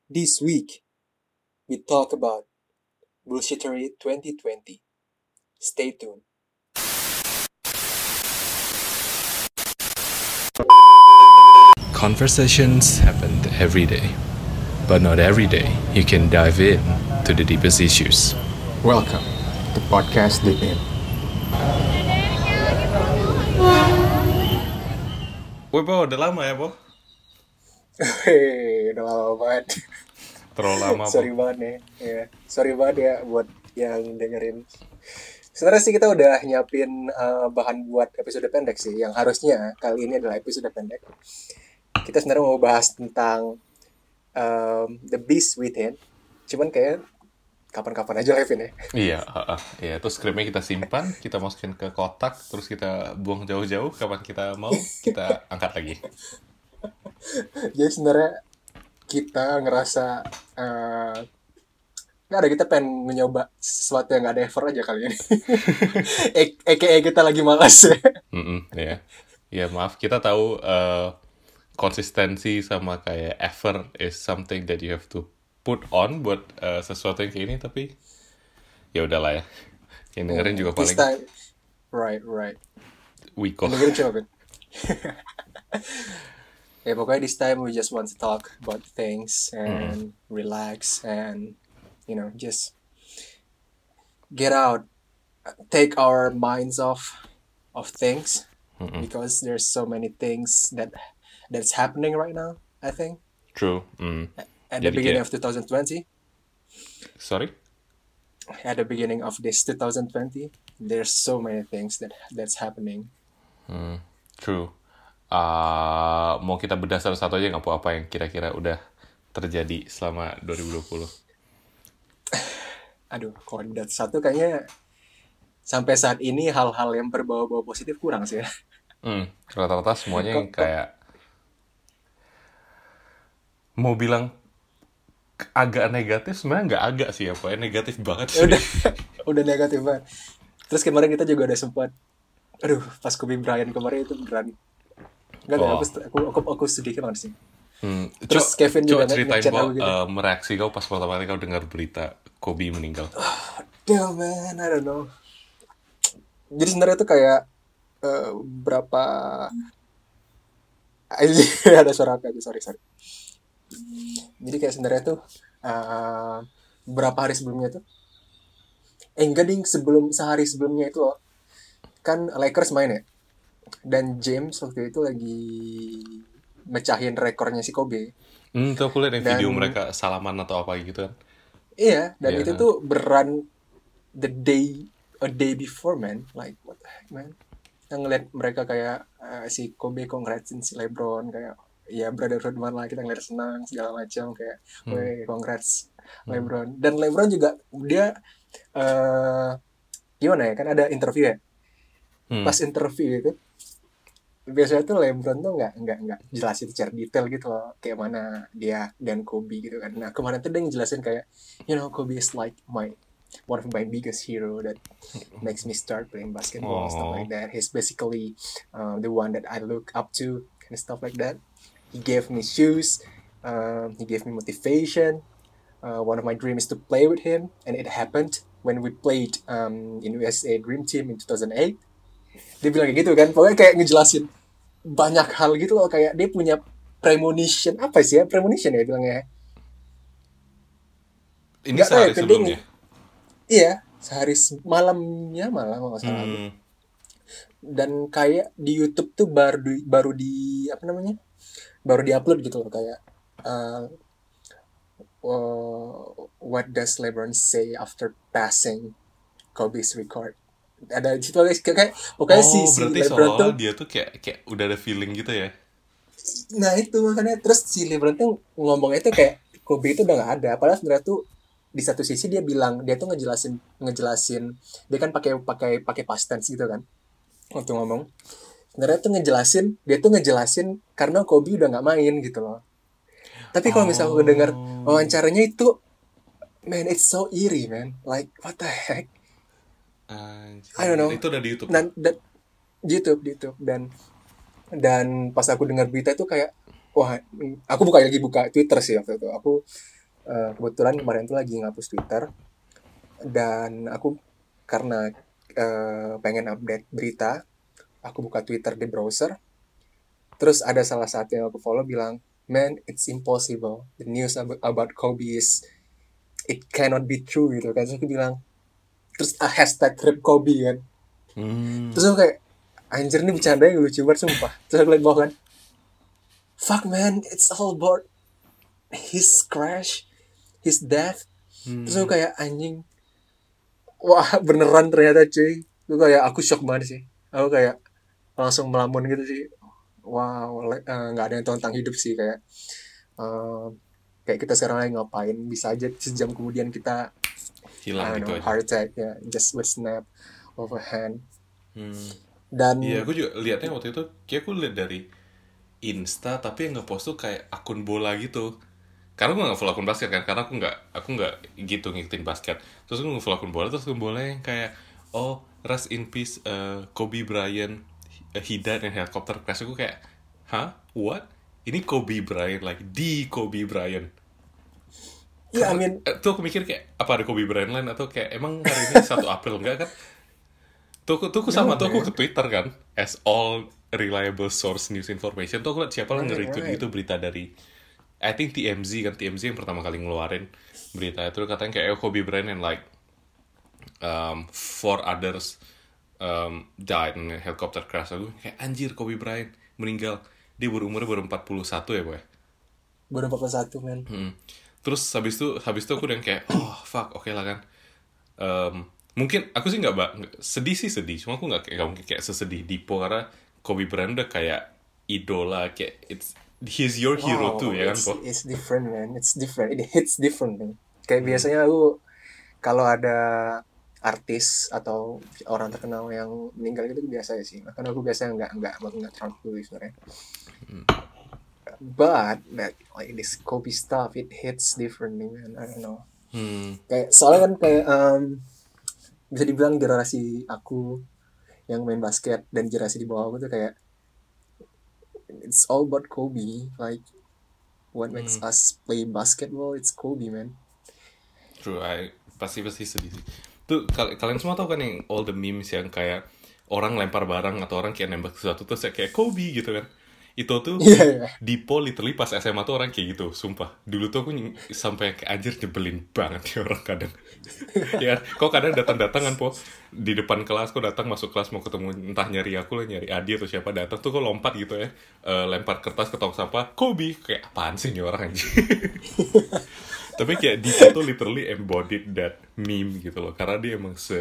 This week, we talk about Bullshittery 2020. Stay tuned. Conversations happen every day, but not every day you can dive in to the deepest issues. Welcome to Podcast Deep In. Woi, Bo, udah lama ya, Bo? Hei, udah lama banget. Terlalu lama, Sorry Bo. banget nih. Ya, sorry banget ya buat yang dengerin. Sebenarnya sih kita udah nyiapin bahan buat episode pendek sih. Yang harusnya kali ini adalah episode pendek. Kita sebenarnya mau bahas tentang The Beast Within. Cuman kayak kapan-kapan aja Levin ya. Iya, iya. Terus skripnya kita simpan, kita masukin ke kotak, terus kita buang jauh-jauh. Kapan kita mau, kita angkat lagi. Jadi sebenarnya kita ngerasa nggak ada, kita pengen mencoba sesuatu yang nggak ada effort aja kali ini. AKA kita lagi malas ya. Iya. Ya, maaf. Kita tahu konsistensi sama kayak effort is something that you have to put on buat sesuatu yang kayak ini, tapi ya udahlah ya. Yang dengerin juga This paling time, right. Wiko. Dengerin coba Ben. Ya pokoknya this time we just want to talk about things and relax and just get out, take our minds off of things because there's so many things that's happening right now. I think True. at the Jadi beginning kayak- of 2020, Sorry? at the beginning of this 2020, there's so many things that's happening. True. Mau kita bedah satu-satu aja nggak apa yang kira-kira udah terjadi selama 2020? Aduh, kalau dat satu kayaknya sampai saat ini hal-hal yang berbau-bau positif kurang sih ya. Rata-rata semuanya yang kayak mau bilang agak negatif, sebenarnya nggak agak sih ya, pokoknya negatif banget sih. udah negatif banget. Terus kemarin kita juga udah sempat, pas Kobe Bryant kemarin itu beneran nggak tahu, aku sedih banget sih. Terus Kevin juga ceritain ngechat Bo, aku gitu. reaksi kau pas pertama kali kau dengar berita Kobe meninggal. Damn man, I don't know. Jadi sebenarnya tuh kayak berapa ada suara apa? Sorry. Jadi kayak sebenarnya tuh berapa hari sebelumnya tuh, enggak ding, sehari sebelumnya itu loh, kan Lakers main ya, dan James waktu itu lagi mecahin rekornya si Kobe. Tuh aku liat yang Dan video mereka salaman atau apa gitu kan. iya, dan Iya. itu tuh beran a day before, man. Like what the heck, man. Kita ngeliat mereka kayak si Kobe congratsin si LeBron, kayak ya brotherhood man lah, kita ngeliat senang segala macam, kayak weh congrats LeBron. Dan LeBron juga dia gimana ya, kan ada interview ya. Pas interview itu biasanya tuh LeBron tuh nggak jelasin secara detail gitu loh, kayak mana dia dan Kobe gitu kan. Nah kemarin tuh dia ngejelasin kayak, Kobe is like one of my biggest hero that makes me start playing basketball, stuff like that. He's basically the one that I look up to and stuff like that. He gave me shoes, he gave me motivation. One of my dreams is to play with him, and it happened when we played in USA Dream Team in 2008. Dia bilang kayak gitu kan, pokoknya kayak ngejelasin banyak hal gitu loh, kayak dia punya premonition, apa sih ya, premonition ya bilangnya. Ini Nggak tahu sehari ya, pending. sebelumnya. Iya, sehari malamnya malah nggak salah aku. Dan kayak di YouTube tuh baru di apa namanya, baru diupload gitu loh, kayak what does LeBron say after passing Kobe's record. Ada di situ kayak pokoknya si Berarti LeBron tuh, seolah-olah dia tuh kayak udah ada feeling gitu ya. nah itu makanya terus si LeBron tuh ngomongnya tuh kayak Kobe itu udah nggak ada, padahal sebenarnya tuh di satu sisi dia bilang, dia tuh ngejelasin dia kan pakai past tense gitu kan waktu ngomong. Sebenarnya tuh dia tuh ngejelasin karena Kobe udah nggak main gitu loh. Tapi kalau misalnya gue dengar wawancaranya itu, man, it's so eerie, man. Like what the heck? I don't know. Itu udah di YouTube. Dan di YouTube dan pas aku dengar berita itu kayak, wah, aku buka Twitter sih waktu itu. Aku Kebetulan kemarin tuh lagi ngapus Twitter, dan aku karena pengen update berita, aku buka Twitter di browser. Terus ada salah satu yang aku follow bilang, man, it's impossible, the news about Kobe is, it cannot be true gitu kan. Terus aku bilang, terus hashtag rip Kobe kan. Hmm. Terus aku kayak, anjir nih bercanda yang lucu banget sumpah. Terus aku liat bawah kan, fuck man, it's all about his crash, his death. Terus aku Hmm. kayak, anjing, wah beneran ternyata cuy. Aku kayak, aku shock banget sih. Aku kayak langsung melamun gitu sih. Wow, nggak ada yang tahu tentang hidup sih, kayak eh, kayak kita sekarang lagi ngapain, bisa aja sejam kemudian kita, I Hilang don't gitu know, aja. heart attack ya, just with snap of a hand. Hmm. Iya, Dan aku juga lihatnya waktu itu, kayak aku lihat dari Insta, tapi yang ngepost tuh kayak akun bola gitu. Karena gue nggak follow akun basket kan, karena aku nggak gitu ngikutin basket. Terus aku nge-follow akun bola, terus akun bola yang kayak, oh, rest in peace, Kobe Bryant, he died in helicopter crash. Aku kayak, hah, what? Ini Kobe Bryant, like di Kobe Bryant. ya, I Karena mean, tuh aku mikir kayak, apa ada Kobe Bryant lain, atau kayak emang hari ini 1 April, enggak kan? Tuh aku no sama tuh aku ke man, Twitter kan, as all reliable source news information. Tuh aku liat siapa lah right, nge-retweet right. gitu berita dari, I think TMZ kan, TMZ yang pertama kali ngeluarin berita itu, katanya kayak, oh, Kobe Bryant and like 4 others died in a helicopter crash. Aku kayak, anjir, Kobe Bryant meninggal, dia umurnya baru 41 ya boy. Baru 41 man. Terus habis itu aku udah kayak, oh fuck, oke lah kan. Mungkin aku sih sedih sih, sedih, cuma aku nggak mungkin kayak sesedih Dipo, karena Kobe Bryant udah kayak idola, kayak he's your hero too Wow, ya kan po. it's different man, it's different, it hits different man. Kayak Hmm. biasanya aku kalau ada artis atau orang terkenal yang meninggal gitu biasa ya sih, karena aku biasanya nggak terlalu peduli sebenarnya. But that, like this Kobe stuff, it hits differently man, I don't know. Hmm. Kayak soalnya kan kayak bisa dibilang generasi aku yang main basket dan generasi di bawah aku tuh kayak, it's all about Kobe, like what makes us play basketball, it's Kobe man. True, pasti sedih sih. Tuh kalian semua tahu kan yang all the memes yang kayak orang lempar barang atau orang kayak nembak sesuatu tuh kayak Kobe gitu kan. Itu tuh Iya ya. Dipo literally pas SMA tuh orang kayak gitu, sumpah. Dulu tuh aku sampai kayak, anjir, nyebelin banget ya orang kadang. Ya, kok kadang datang-datangan po di depan kelas, kok datang masuk kelas mau ketemu, entah nyari aku lah, nyari Adi atau siapa, datang tuh kok lompat gitu ya, lempar kertas ke tong sampah, Kobe, kayak apaan sih nih orang anjing. Tapi kayak Dipo tuh literally embodied that meme gitu loh, karena dia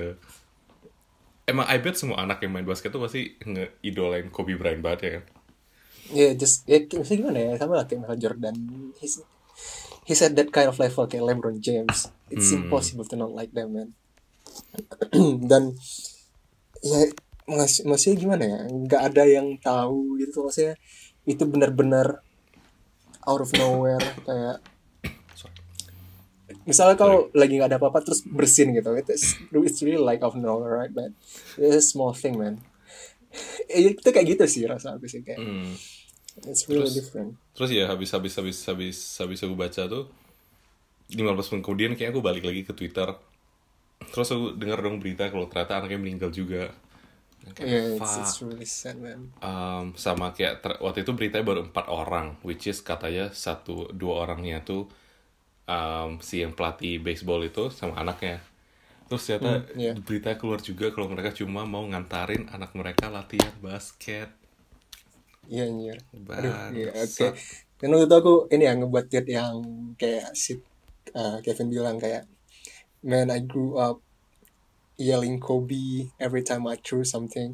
emang I bet semua anak yang main basket tuh pasti ngeidolain Kobe Bryant banget ya kan. Ya just ya maksudnya gimana ya, sama lah kayak Michael Jordan, he's at that kind of level kayak LeBron James, it's impossible to not like them man. Dan ya maksudnya gimana ya, nggak ada yang tahu gitu maksudnya, itu benar-benar out of nowhere, kayak Sorry. misalnya Sorry. kau lagi nggak ada apa-apa terus bersin gitu, it's really like out of nowhere right, but it's a small thing man. Itu kayak gitu sih rasa aku sih, kayak it's really Terus different. terus ya habis aku baca tuh 15 menit kemudian kayak aku balik lagi ke Twitter. Terus aku dengar dong berita kalau ternyata anaknya meninggal juga. Kayak Yeah, fuck. it's really sad man. Sama kayak waktu itu beritanya baru 4 orang, which is katanya dua orangnya tuh si yang pelatih baseball itu sama anaknya. Terus ternyata Yeah. berita keluar juga kalau mereka cuma mau ngantarin anak mereka latihan basket. Iya anjir. Aduh, iya oke. Bangsat. Dan waktu itu aku ini ya ngebuat tweet yang kayak si Kevin bilang kayak, man, I grew up yelling Kobe every time I threw something.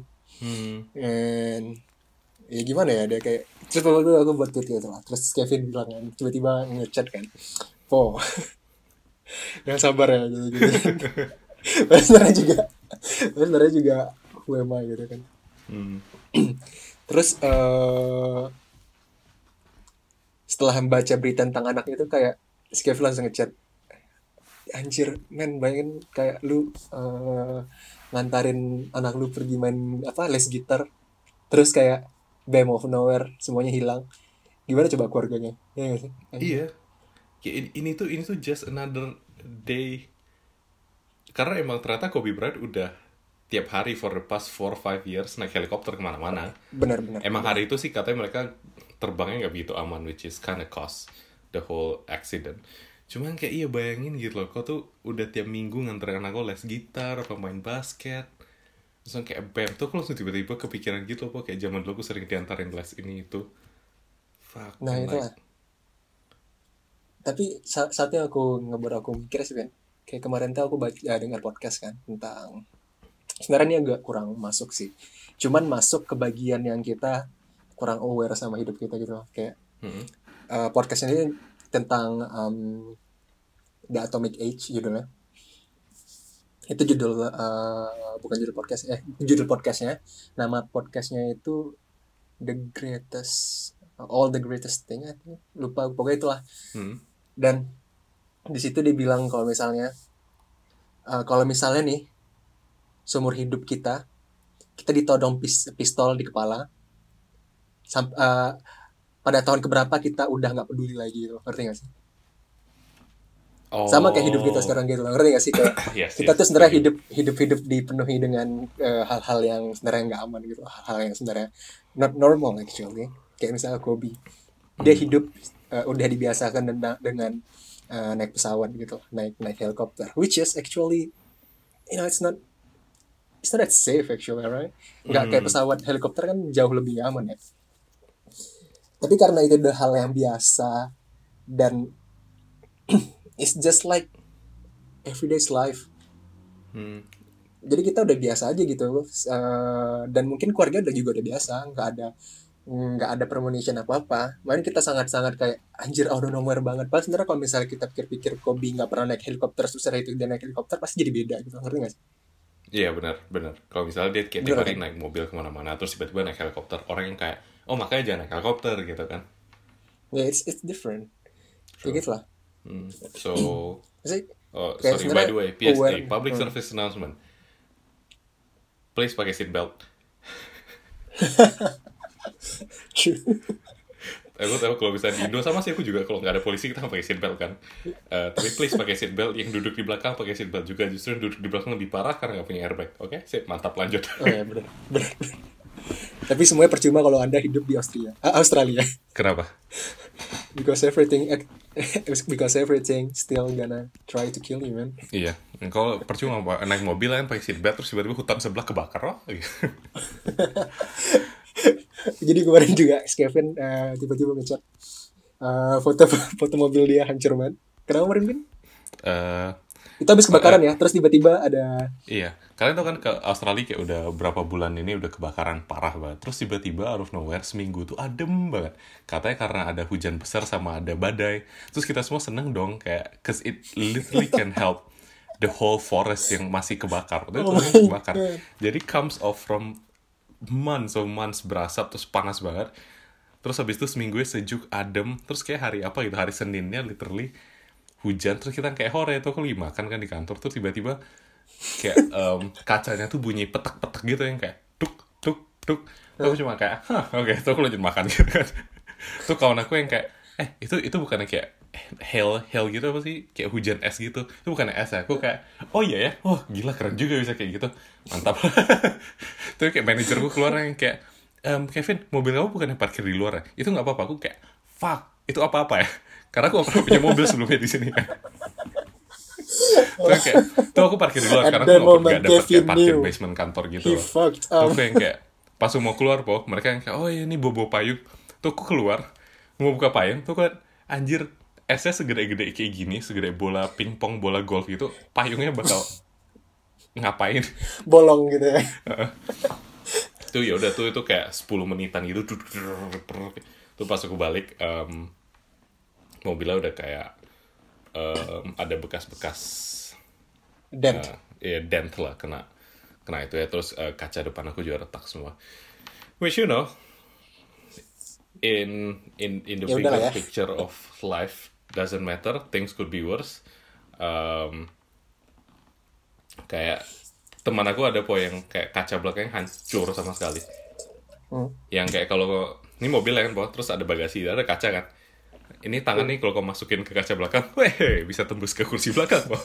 And ya gimana ya, dia kayak, terus waktu itu aku buat tweet gitu lah. Terus Kevin bilang kan, tiba-tiba ngechat kan, po, yang sabar ya gitu gitu. Padahal sebenarnya juga who am I gitu kan. Terus setelah membaca berita tentang anak itu kayak si Kevin langsung ngechat, anjir men, bayangin kayak lu ngantarin anak lu pergi main apa, les gitar, terus kayak bam of nowhere semuanya hilang, gimana coba keluarganya, ya nggak sih anjir. Iya. Kayak ini tuh just another day. Karena emang ternyata Kobe Bryant udah tiap hari for the past 4-5 years naik helikopter kemana-mana. Benar. Emang hari itu sih katanya mereka terbangnya nggak begitu aman, which is kinda cause the whole accident. Cuman kayak iya bayangin gitu loh, kau tuh udah tiap minggu nganterin anak lo les gitar, apa main basket. Terus kayak bam, tuh aku langsung tiba-tiba kepikiran gitu loh, kayak zaman dulu aku sering diantarin les ini itu. Fuck, Nah and itulah. like, Tapi saatnya aku mikir sih, Ben. Kayak kemarin tuh aku dengar podcast kan tentang, sebenarnya ini agak kurang masuk sih. Cuman masuk ke bagian yang kita kurang aware sama hidup kita gitu loh. Kayak podcast ini tentang The Atomic Age judulnya. Itu judul bukan judul podcast, judul podcastnya. Nama podcastnya itu All the Greatest Thing, lupa pokoknya itulah. Dan di situ dibilang kalau misalnya nih seumur hidup kita ditodong pistol di kepala, pada tahun keberapa kita udah nggak peduli lagi gitu, ngerti nggak sih? Sama kayak hidup kita sekarang gitu, ngerti nggak sih? Kayak kita tuh sebenarnya hidup dipenuhi dengan hal-hal yang sebenarnya nggak aman gitu, hal-hal yang sebenarnya not normal actually. Kayak misalnya Kobe, dia hidup udah dibiasakan dengan naik pesawat gitu, naik helikopter, which is actually, it's not that safe actually, right? Nggak kayak pesawat, helikopter kan jauh lebih aman ya. Tapi karena itu udah hal yang biasa dan it's just like everyday's life. Jadi kita udah biasa aja gitu, dan mungkin keluarga udah biasa, nggak ada premonition apa-apa. Makanya kita sangat-sangat kayak anjir out of nowhere banget. Pas sebenarnya kalau misalnya kita pikir-pikir Kobe nggak pernah naik helikopter, susah itu dia naik helikopter, pasti jadi beda gitu, ngerti nggak sih? Iya benar. Kalau misalnya dia kayak tiap hari naik mobil kemana-mana, terus tiba-tiba naik helikopter, orang yang kayak, oh makanya jangan naik helikopter gitu kan? Yeah, it's different. Kayak gitu lah. So, sorry by the way, PSA, public service announcement. Please pakai seatbelt. Aku tahu kalau bisa di Indo sama sih, aku juga kalau nggak ada polisi kita pakai seatbelt kan. Tapi please pakai seatbelt. Yang duduk di belakang pakai seatbelt juga. Justru yang duduk di belakang lebih parah karena nggak punya airbag. Oke, sip, mantap, lanjut. Oh ya benar. Tapi semuanya percuma kalau Anda hidup di Australia. Kenapa? Because everything still gonna try to kill you, man. Iya, kalau percuma naik mobil kan pakai seatbelt terus tiba-tiba hutan sebelah kebakar loh. Jadi kemarin juga Kevin tiba-tiba ngechat foto mobil dia hancur banget. Kenapa kemarin, Bin? Itu habis kebakaran ya, terus tiba-tiba ada... Iya, kalian tau kan ke Australia kayak udah berapa bulan ini udah kebakaran parah banget. Terus tiba-tiba out of nowhere seminggu tuh adem banget. Katanya karena ada hujan besar sama ada badai. Terus kita semua seneng dong kayak, cause it literally can help the whole forest yang masih kebakar. Itu kebakar. Jadi comes off from months berasap terus panas banget. Terus habis itu seminggu sejuk adem. Terus kayak hari apa gitu, hari Seninnya literally hujan. Terus kita kayak hore tuh aku lagi makan kan di kantor. Terus tiba-tiba kayak kacanya tuh bunyi petak-petak gitu yang kayak tuk tuk tuk. Aku cuma kayak oke, tuh aku lanjut makan gitu kan. Tuh kawan aku yang kayak itu bukannya kayak hail gitu apa sih, kayak hujan es gitu. Itu bukannya es ya. Aku kayak oh iya ya, oh gila keren juga bisa kayak gitu, mantap. Tuh kayak manajerku keluar yang kayak Kevin, mobil kamu bukannya parkir di luar ya? Itu nggak apa-apa. Aku kayak fuck, itu apa-apa ya? Karena aku pernah punya mobil sebelumnya di sini kan. Tuh aku parkir di luar karena aku nggak dapet kayak parkir basement kantor gitu loh. Tuh aku yang kayak pas mau keluar mereka yang kayak oh ya ini bobo payung. Tuh aku keluar mau buka payung tuh kan anjir, esnya segede-gede kayak gini, segede bola pingpong, bola golf gitu, payungnya bakal ngapain? Bolong gitu ya. Tuh ya udah tuh itu kayak 10 menitan gitu. Tuh pas aku balik mobilnya udah kayak ada bekas-bekas dent. Dent lah, kena itu ya. Terus kaca depan aku juga retak semua. Which you know, in the bigger picture of life doesn't matter, things could be worse. Kayak teman aku ada yang kayak kaca belakangnya hancur sama sekali. Yang kayak kalau ini mobil kan terus ada bagasi, ada kaca kan. ini tangan nih kalau kau masukin ke kaca belakang, weh, bisa tembus ke kursi belakang, Bang.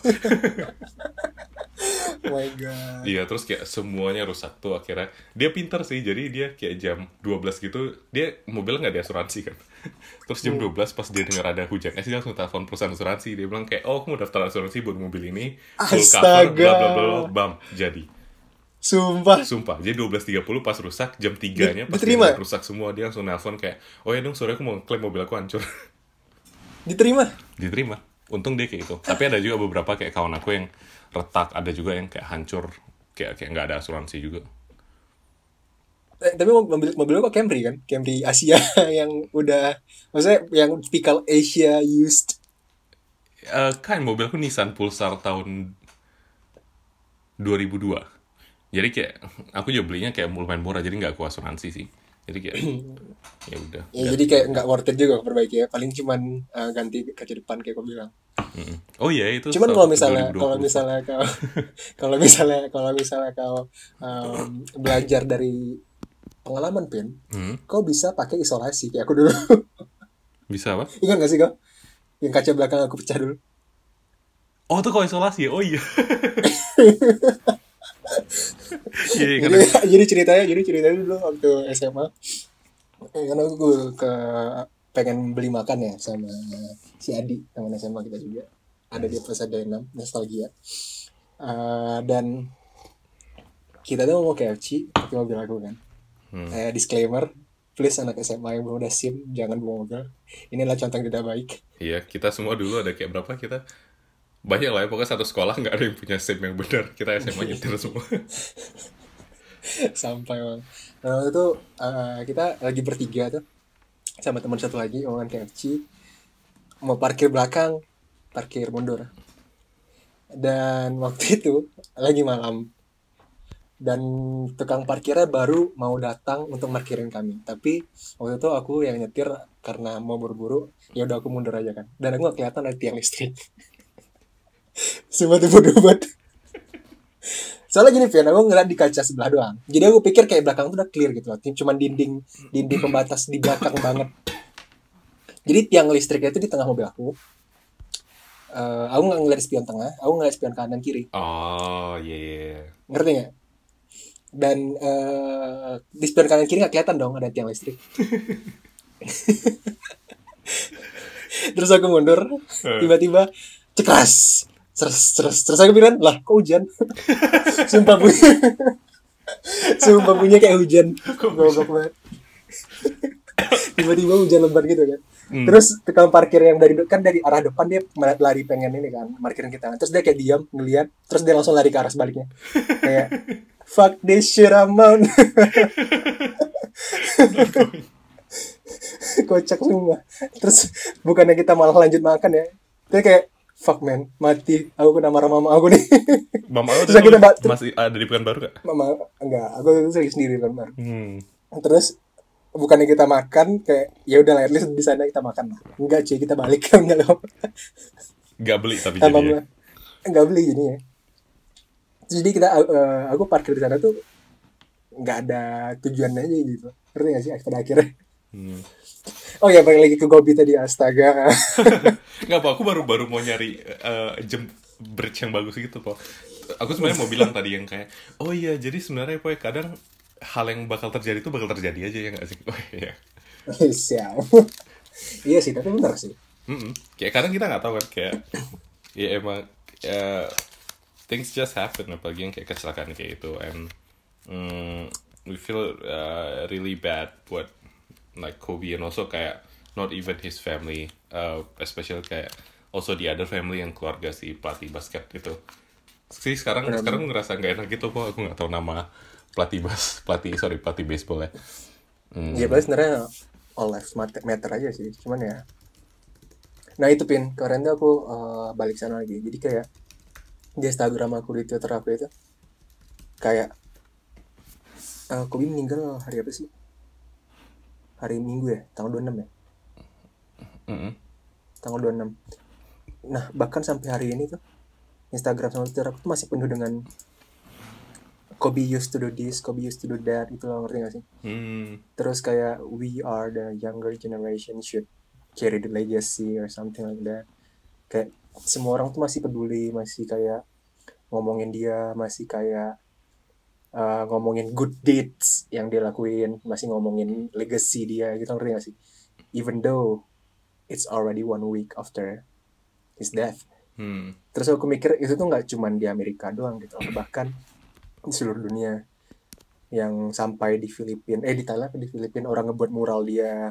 Oh my god. Iya, terus kayak semuanya rusak tuh akhirnya. Dia pinter sih, jadi dia kayak jam 12 gitu, dia mobilnya nggak ada asuransi kan. Terus jam 12 pas dia dengar ada hujan es, dia langsung telepon perusahaan asuransi. Dia bilang kayak, oh, aku mau daftar asuransi buat mobil ini, full cover, bla Astaga. bla bla, bam, jadi. Sumpah. Sumpah, jadi 12.30 pas rusak, jam 3-nya pas dia Diterima. ngeliat rusak semua, dia langsung nelpon kayak, oh ya dong, sorry aku mau klaim mobil aku hancur. Diterima. Diterima. Untung dia kayak gitu. Tapi ada juga beberapa kayak kawan aku yang retak, ada juga yang kayak hancur, kayak nggak ada asuransi juga. Tapi mobil kok Camry kan? Camry Asia yang udah, maksudnya yang typical Asia used. Kan mobilku Nissan Pulsar tahun 2002. Jadi kayak aku juga belinya kayak lumayan murah, jadi nggak aku asuransi sih. Jadi kayak ya udah. Ya jadi kayak nggak worth it juga perbaiki ya. Paling cuman ganti kaca depan kayak kau bilang. Oh iya, itu Cuman salah kalau satu misalnya 2020. kalau misalnya kau belajar dari pengalaman Pin, kau bisa pakai isolasi kayak aku dulu. Bisa apa? Ingat gak sih kau? Yang kaca belakang aku pecah dulu. Oh tuh kok isolasi ya? Oh iya. Iya, iya, Jadi karena jadi ceritanya dulu waktu SMA. Karena aku ke pengen beli makan ya sama si Adi teman SMA kita juga. Ada di Plaza D6 nostalgia. Dan kita tuh mau KFC pakai mobil aku kan. Disclaimer, please anak SMA yang belum ada SIM jangan bawa mobil. Ini adalah contoh yang tidak baik. iya, kita semua dulu ada kayak berapa kita? Banyak lah ya, pokoknya satu sekolah nggak ada yang punya SIM yang benar. Kita SMA nyetir semua. Sampai bang. Nah waktu itu kita lagi bertiga tuh sama teman satu lagi omongan KFC mau parkir belakang, parkir mundur. Dan waktu itu lagi malam dan tukang parkirnya baru mau datang untuk parkirin kami. Tapi waktu itu aku yang nyetir karena mau buru-buru, ya udah aku mundur aja kan. Dan aku gak kelihatan ada tiang listrik. Sumpah tuh bodoh banget. Soalnya gini Pian, aku ngeliat di kaca sebelah doang. Jadi aku pikir kayak belakang tuh udah clear gitu loh. Cuman dinding pembatas di belakang banget. Jadi tiang listriknya itu di tengah mobil aku. Aku nggak ngeliat spion tengah, aku ngeliat spion kanan kiri. Oh iya, iya. Ngerti nggak? Dan di spion kanan kiri nggak kelihatan dong ada tiang listrik. Terus aku mundur, tiba-tiba cekras, terus aku bilang lah kok hujan. Sumpah bunyi kayak hujan. Goblok banget. Tiba-tiba hujan lebat gitu kan. Terus tukang parkir yang dari arah depan dia lari pengen ini kan parkirin kita. Terus dia kayak diam ngeliat, terus dia langsung lari ke arah sebaliknya. Kayak fuck this shit I'm on. Kocak semua. Terus bukannya kita malah lanjut makan ya. Dia kayak fuck man, mati. Aku kena marah mama aku nih. Mama lo Terus kita masih ada di Pekanbaru gak? mama enggak, aku itu sendiri kan baru. Terus bukannya kita makan kayak ya udah at least di sana kita makan lah. Enggak cuy, kita balik kan enggak apa. Gak beli tapi Tambah jadi ya. enggak beli jadinya. Jadi kita aku parkir di sana tuh nggak ada tujuan aja gitu. Ngerti gak sih pada akhirnya? Oh ya balik lagi ke Gobi tadi, astaga. Nggak apa, aku baru mau nyari bridge yang bagus gitu kok. Aku sebenarnya mau bilang tadi yang kayak, oh iya jadi sebenarnya Poy, kadang hal yang bakal terjadi itu bakal terjadi aja ya nggak sih? Oh iya. Siap. Iya sih, tapi benar sih. Kayak kadang kita nggak tahu kan kayak, ya emang things just happen, apalagi yang kayak kecelakaan kayak itu, and we feel really bad buat like Kobe, and also kayak not even his family, especially kayak also the other family yang keluarga si pelatih basket itu. Sih sekarang ngerasa nggak enak gitu kok, aku nggak tahu nama pelatih baseball ya. Iya paling sebenarnya all lives matter aja sih, cuman ya. Nah itu Pin, kemarin tuh aku balik sana lagi, jadi kayak di Instagram aku, di Twitter aku itu kayak Kobe meninggal hari apa sih? Hari Minggu ya, tanggal 26 ya? Tanggal 26. Nah bahkan sampai hari ini tuh Instagram sama Twitter aku tuh masih penuh dengan Kobe used to do this, Kobe used to do that, itu lo ngerti gak sih? Terus kayak we are the younger generation should carry the legacy or something like that. Kayak semua orang tuh masih peduli, masih kayak ngomongin dia, masih kayak ngomongin good deeds yang dia lakuin, masih ngomongin legacy dia gitu, ngerti gak sih? Even though it's already 1 week after his death. Terus aku mikir itu tuh nggak cuma di Amerika doang gitu, bahkan di seluruh dunia. Yang sampai di Filipina, di Thailand, di Filipina orang ngebuat mural dia,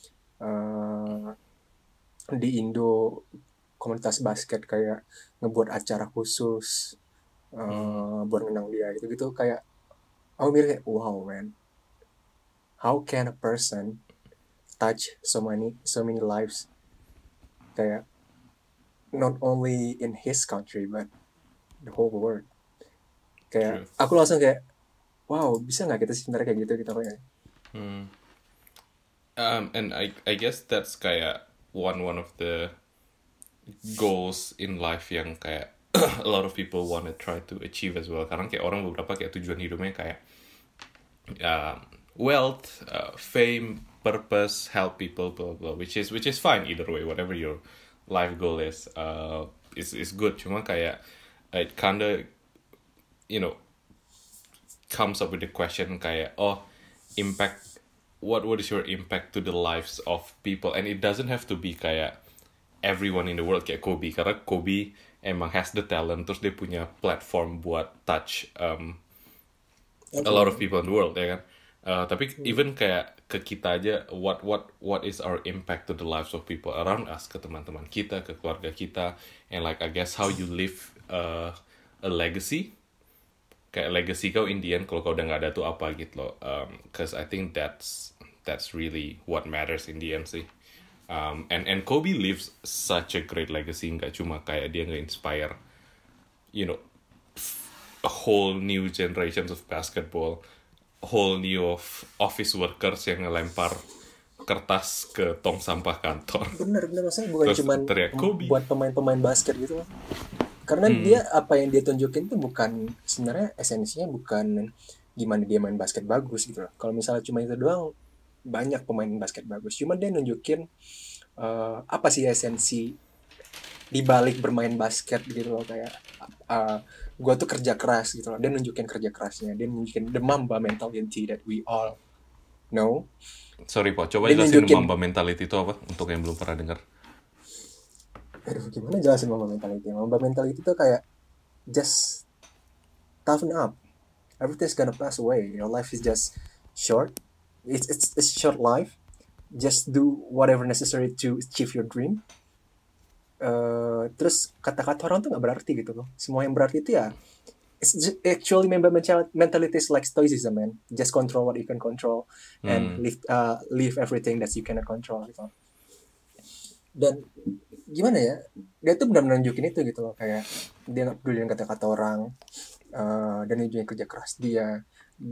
di Indo komunitas basket kayak ngebuat acara khusus buat ngenang dia gitu kayak aku mikir kayak wow man, how can a person touch so many lives, kayak not only in his country but the whole world. Kayak aku langsung kayak wow, bisa nggak kita sebenarnya kayak gitu kayak. And I guess that's kayak one of the goals in life yang kayak a lot of people wanna try to achieve as well. Karena kayak orang beberapa kayak tujuan hidupnya kayak wealth, fame, purpose, help people, blah blah, which is fine either way. Whatever your life goal is good. Cuma kayak it kinda, you know, comes up with the question kayak impact. What is your impact to the lives of people? And it doesn't have to be kayak everyone in the world kayak Kobe, karena Kobe emang has the talent, terus dia punya platform buat touch a lot of people in the world, ya kan? Tapi even kayak ke kita aja, what is our impact to the lives of people around us, ke teman-teman kita, ke keluarga kita, and like I guess how you live a legacy. Kayak legacy kau in the end kalau kau udah nggak ada tuh apa gitu loh. Cause I think that's really what matters in the end sih. And Kobe leaves such a great legacy, nggak cuma kayak dia nge-inspire, you know, a whole new generations of basketball, whole new of office workers yang ngelempar kertas ke tong sampah kantor. Bener maksudnya bukan cuma buat pemain-pemain basket gitu loh. Karena dia apa yang dia tunjukin tuh bukan sebenarnya esensinya bukan gimana dia main basket bagus gitu loh. Kalau misalnya cuma itu doang, banyak pemain basket bagus. Cuma dia nunjukin apa sih esensi di balik bermain basket gitu loh, kayak gue tuh kerja keras gitu loh. Dia nunjukin kerja kerasnya, dia nunjukin the Mamba mentality that we all know. Sorry Po, coba jelasin Mamba mentality itu apa untuk yang belum pernah dengar. Aduh, gimana jelasin Mamba mentality? Mamba mentality itu kayak just toughen up. Everything's gonna pass away. Your life is just short. It's short life. Just do whatever necessary to achieve your dream. Terus kata-kata orang tuh nggak berarti gitu loh. Semua yang berarti itu ya, it's actually Mamba mentality is like stoicism, man. Just control what you can control and leave everything that you cannot control gitu. Dan gimana ya, dia tuh benar-benar nunjukin itu gitu loh, kayak dia nggak peduli dengan kata-kata orang, dan nunjukin kerja keras dia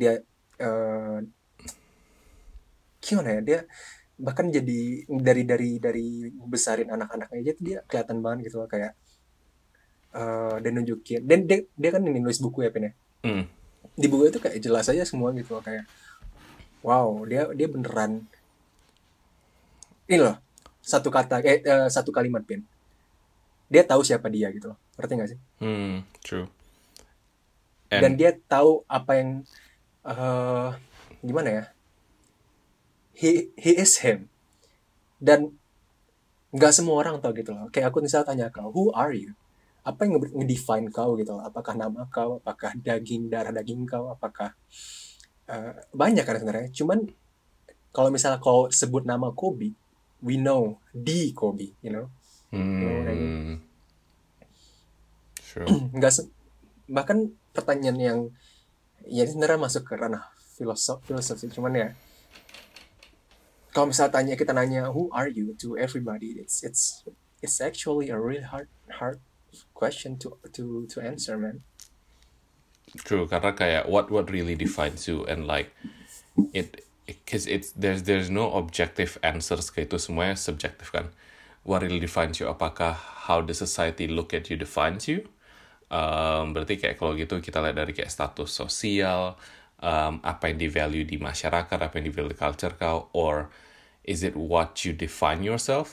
gimana ya, dia bahkan jadi dari besarin anak-anaknya aja tuh dia kelihatan banget gitu loh, kayak dan nunjukin, dan dia kan ini nulis buku ya Pen ya. Di buku itu kayak jelas aja semua gitu loh, kayak wow, dia beneran ini loh, satu kalimat Pen, dia tahu siapa dia gitu loh, ngerti nggak sih? True. Dan dia tahu apa yang gimana ya, he is him, dan nggak semua orang tahu gitu loh. Kayak aku misal tanya kau, who are you? Apa yang ngedefine kau gitu loh? Apakah nama kau? Apakah darah daging kau? Apakah banyak kan sebenarnya. Cuman kalau misalnya kau sebut nama Kobe, we know the Kobe, you know. Sure. Bahkan pertanyaan yang ya sebenarnya masuk ke ranah filosofi, cuman ya kalau misalnya kita nanya who are you to everybody, it's actually a really hard question to answer, man. True, karena kayak what really defines you, and like because there's no objective answers, kayak itu semuanya subjektif kan. What really defines you, apakah how the society look at you defines you? Berarti kayak kalau gitu kita lihat dari kayak status sosial, apa yang di-value di masyarakat, apa yang di-value di culture kau, or is it what you define yourself?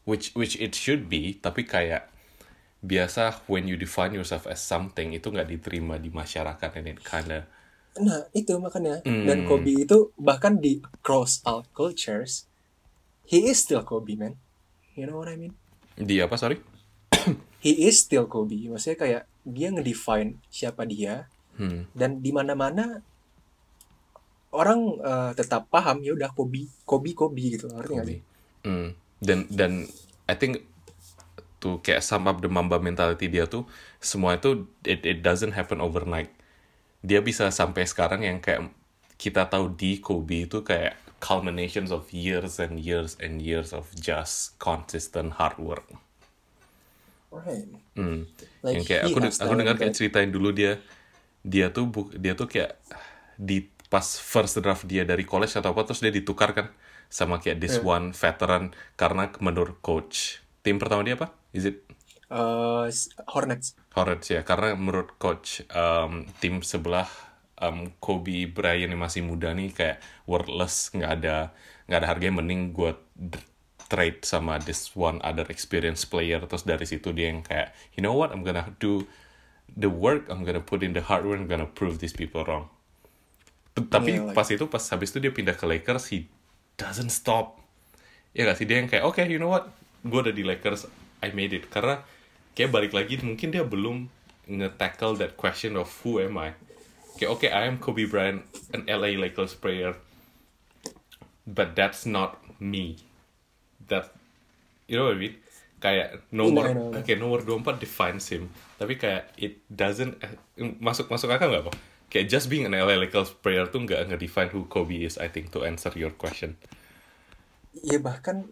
which it should be, tapi kayak biasa when you define yourself as something itu nggak diterima di masyarakat, and it kinda Nah, itu makanya. Dan Kobe itu bahkan di across all cultures, he is still Kobe, man. You know what I mean? di apa, sorry? He is still Kobe. Maksudnya kayak dia ngedefine siapa dia. Dan di mana-mana orang tetap paham ya udah Kobe gitu. Ngerti nggak sih? Dan I think to kayak sum up the Mamba mentality dia tuh, semua itu it doesn't happen overnight. Dia bisa sampai sekarang yang kayak kita tahu di Kobe itu kayak culminations of years and years and years of just consistent hard work. Right. Yang kayak aku dengar kayak ceritain dulu dia tuh kayak di pas first draft dia dari college atau apa, terus dia ditukar kan sama kayak this one veteran karena menurut coach. Tim pertama dia apa? Is it Hornets ya, karena menurut coach tim sebelah Kobe Bryant yang masih muda nih kayak worthless, nggak ada harganya, mending gue trade sama this one other experienced player. Terus dari situ dia yang kayak, you know what, I'm gonna do the work, I'm gonna put in the hard work, I'm gonna prove these people wrong. Tapi pas habis itu dia pindah ke Lakers, he doesn't stop. Ya gak sih, dia yang kayak, okay, you know what, gue udah di Lakers, I made it. Karena kayak balik lagi, mungkin dia belum nge-tackle that question of who am I. Kayak, okay, I am Kobe Bryant, an LA Lakers player, but that's not me. That, you know what I mean? Kayak nomor 24 defines him, tapi kayak it doesn't masuk akal nggak kok? Kayak just being an LA Lakers player tuh nggak define who Kobe is, I think, to answer your question. Ya bahkan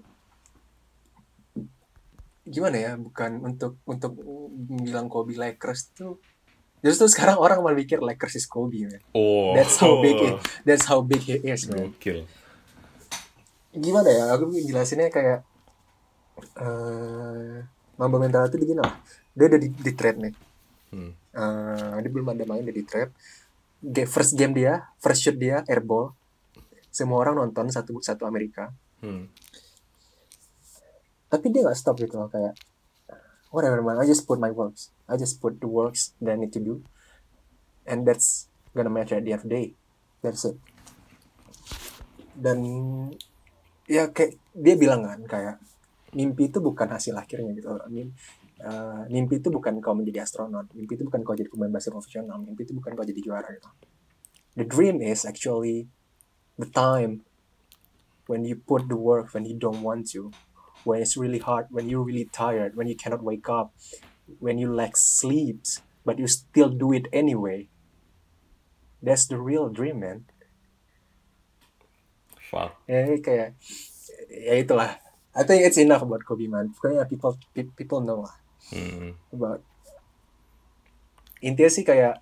gimana ya, bukan untuk bilang Kobe Lakers tuh, justru sekarang orang malah pikir Lakers is Kobe, man. That's how big he is, man. Gokil. Gimana ya, aku jelasinnya kayak Mamba mental itu begini lah. Dia udah di trade nih. Dia belum ada main, udah di trade. First game dia, first shoot dia airball. Semua orang nonton satu Amerika. Tapi dia nggak stop gitu loh, kayak whatever man, I just put my works, I just put the works that I need to do, and that's gonna matter at the end of the day. That's it. Dan ya kayak dia bilang kan, kayak mimpi itu bukan hasil akhirnya gitu. Mimpi itu bukan kau menjadi astronot, mimpi itu bukan kau jadi pemain basket profesional, mimpi itu bukan kau jadi juara gitu. The dream is actually the time when you put the work when you don't want to, when it's really hard, when you're really tired, when you cannot wake up, when you lack sleep, but you still do it anyway. That's the real dream, man. Fuck. Kayak ya itulah. I think it's enough about Kobe, man. Pokoknya people know lah about. Intinya sih kayak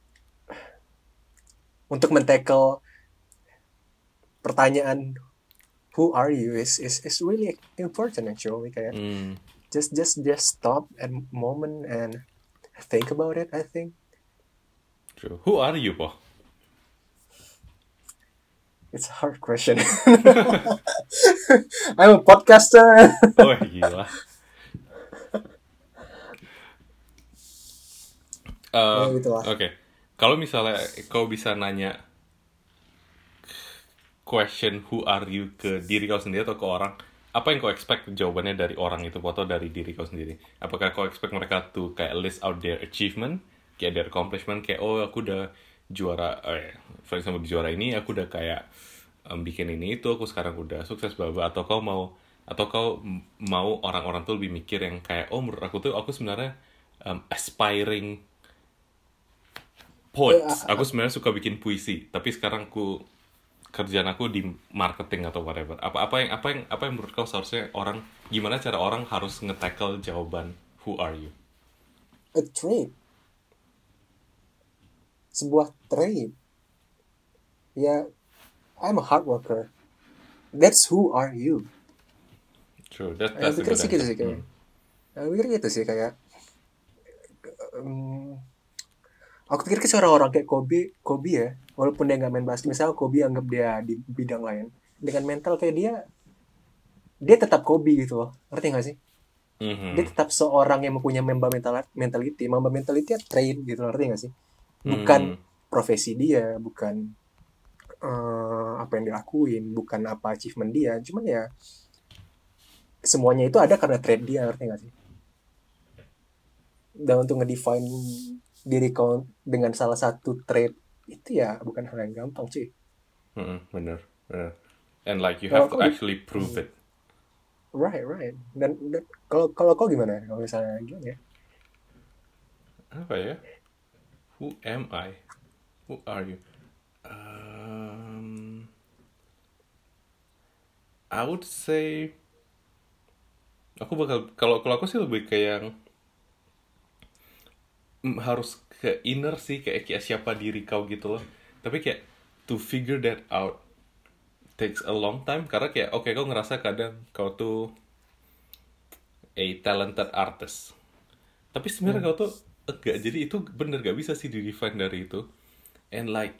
untuk men-tackle pertanyaan who are you is really important actually. Kayak just stop at moment and think about it, I think. True. Who are you, po? It's a hard question. I'm a podcaster. Oh gila. Oke. Kalau misalnya kau bisa nanya question who are you ke diri kau sendiri atau ke orang, apa yang kau expect jawabannya dari orang itu atau dari diri kau sendiri? Apakah kau expect mereka tuh kayak list out their achievement, kayak their accomplishment, kayak oh aku udah juara, for example di juara ini aku udah kayak bikin ini itu, aku sekarang udah sukses bla bla, atau kau mau orang-orang tuh lebih mikir yang kayak oh menurut aku tuh aku sebenarnya aspiring poets, aku sebenarnya suka bikin puisi, tapi sekarang kerjaan aku di marketing atau whatever. Apa yang menurut kau seharusnya orang, gimana cara orang harus nge-tackle jawaban who are you? A trade. Sebuah trade. Ya, I'm a hard worker. That's who are you. True. That's a good answer. Aku pikir gitu sih kayak aku pikir ke orang-orang kayak Kobe ya, walaupun dia nggak main basket, misalnya Kobe anggap dia di bidang lain, dengan mental kayak dia dia tetap Kobe gitu loh, ngerti gak sih? Dia Mhm. tetap seorang yang mempunyai mentality. Mamba mentality ya train gitu loh, ngerti gak sih? Bukan Mhm. profesi dia, bukan apa yang dilakuin, bukan apa achievement dia, cuman ya semuanya itu ada karena trade dia, ngerti gak sih? Dan untuk ngedefine diri kau dengan salah satu trade itu ya bukan hal yang gampang cuy. Mhm. Bener. Bener. And like you Kalau have to kau di actually prove it. right right dan kalau kalau kau gimana kalau misalnya gimana ya? Apa ya? Who am I? Who are you? Um, I would say aku bakal kalau kalau aku sih lebih kayak yang harus ke inner sih kayak siapa diri kau gitu loh. Tapi kayak to figure that out takes a long time karena kayak oke kau ngerasa kadang kau tuh a talented artist. Tapi sebenarnya Hmm. kau tuh enggak, jadi itu bener gak bisa sih di define dari itu. And like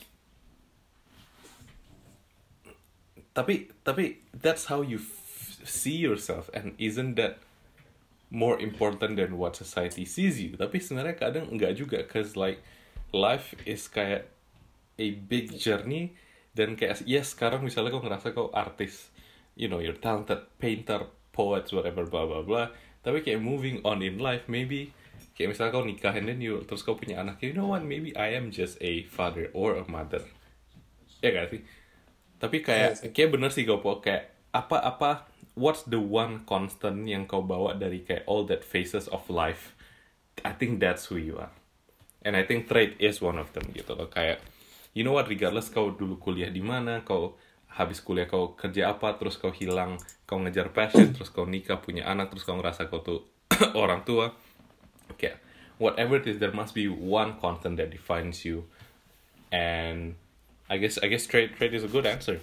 tapi that's how you see yourself, and isn't that more important than what society sees you? Tapi sebenarnya kadang enggak juga, cause like life is kayak a big journey. Dan kayak yes, sekarang misalnya kau ngerasa kau artis, you know, you're talented painter, poets, whatever, blah blah blah. Tapi kayak moving on in life, maybe kayak misalnya kau nikah and then you terus kau punya anak, you know what, maybe I am just a father or a mother, ya gak sih? Tapi Iya kayak sih. kayak bener sih Gopo, kayak apa what's the one constant yang kau bawa dari kayak all that phases of life. I think that's who you are. And I think trade is one of them gitu loh. Kayak you know what, regardless kau dulu kuliah di mana, kau habis kuliah kau kerja apa, terus kau hilang, kau ngejar passion, terus kau nikah punya anak, terus kau ngerasa kau tuh orang tua. Kayak whatever it is, there must be one constant that defines you. And I guess trade is a good answer.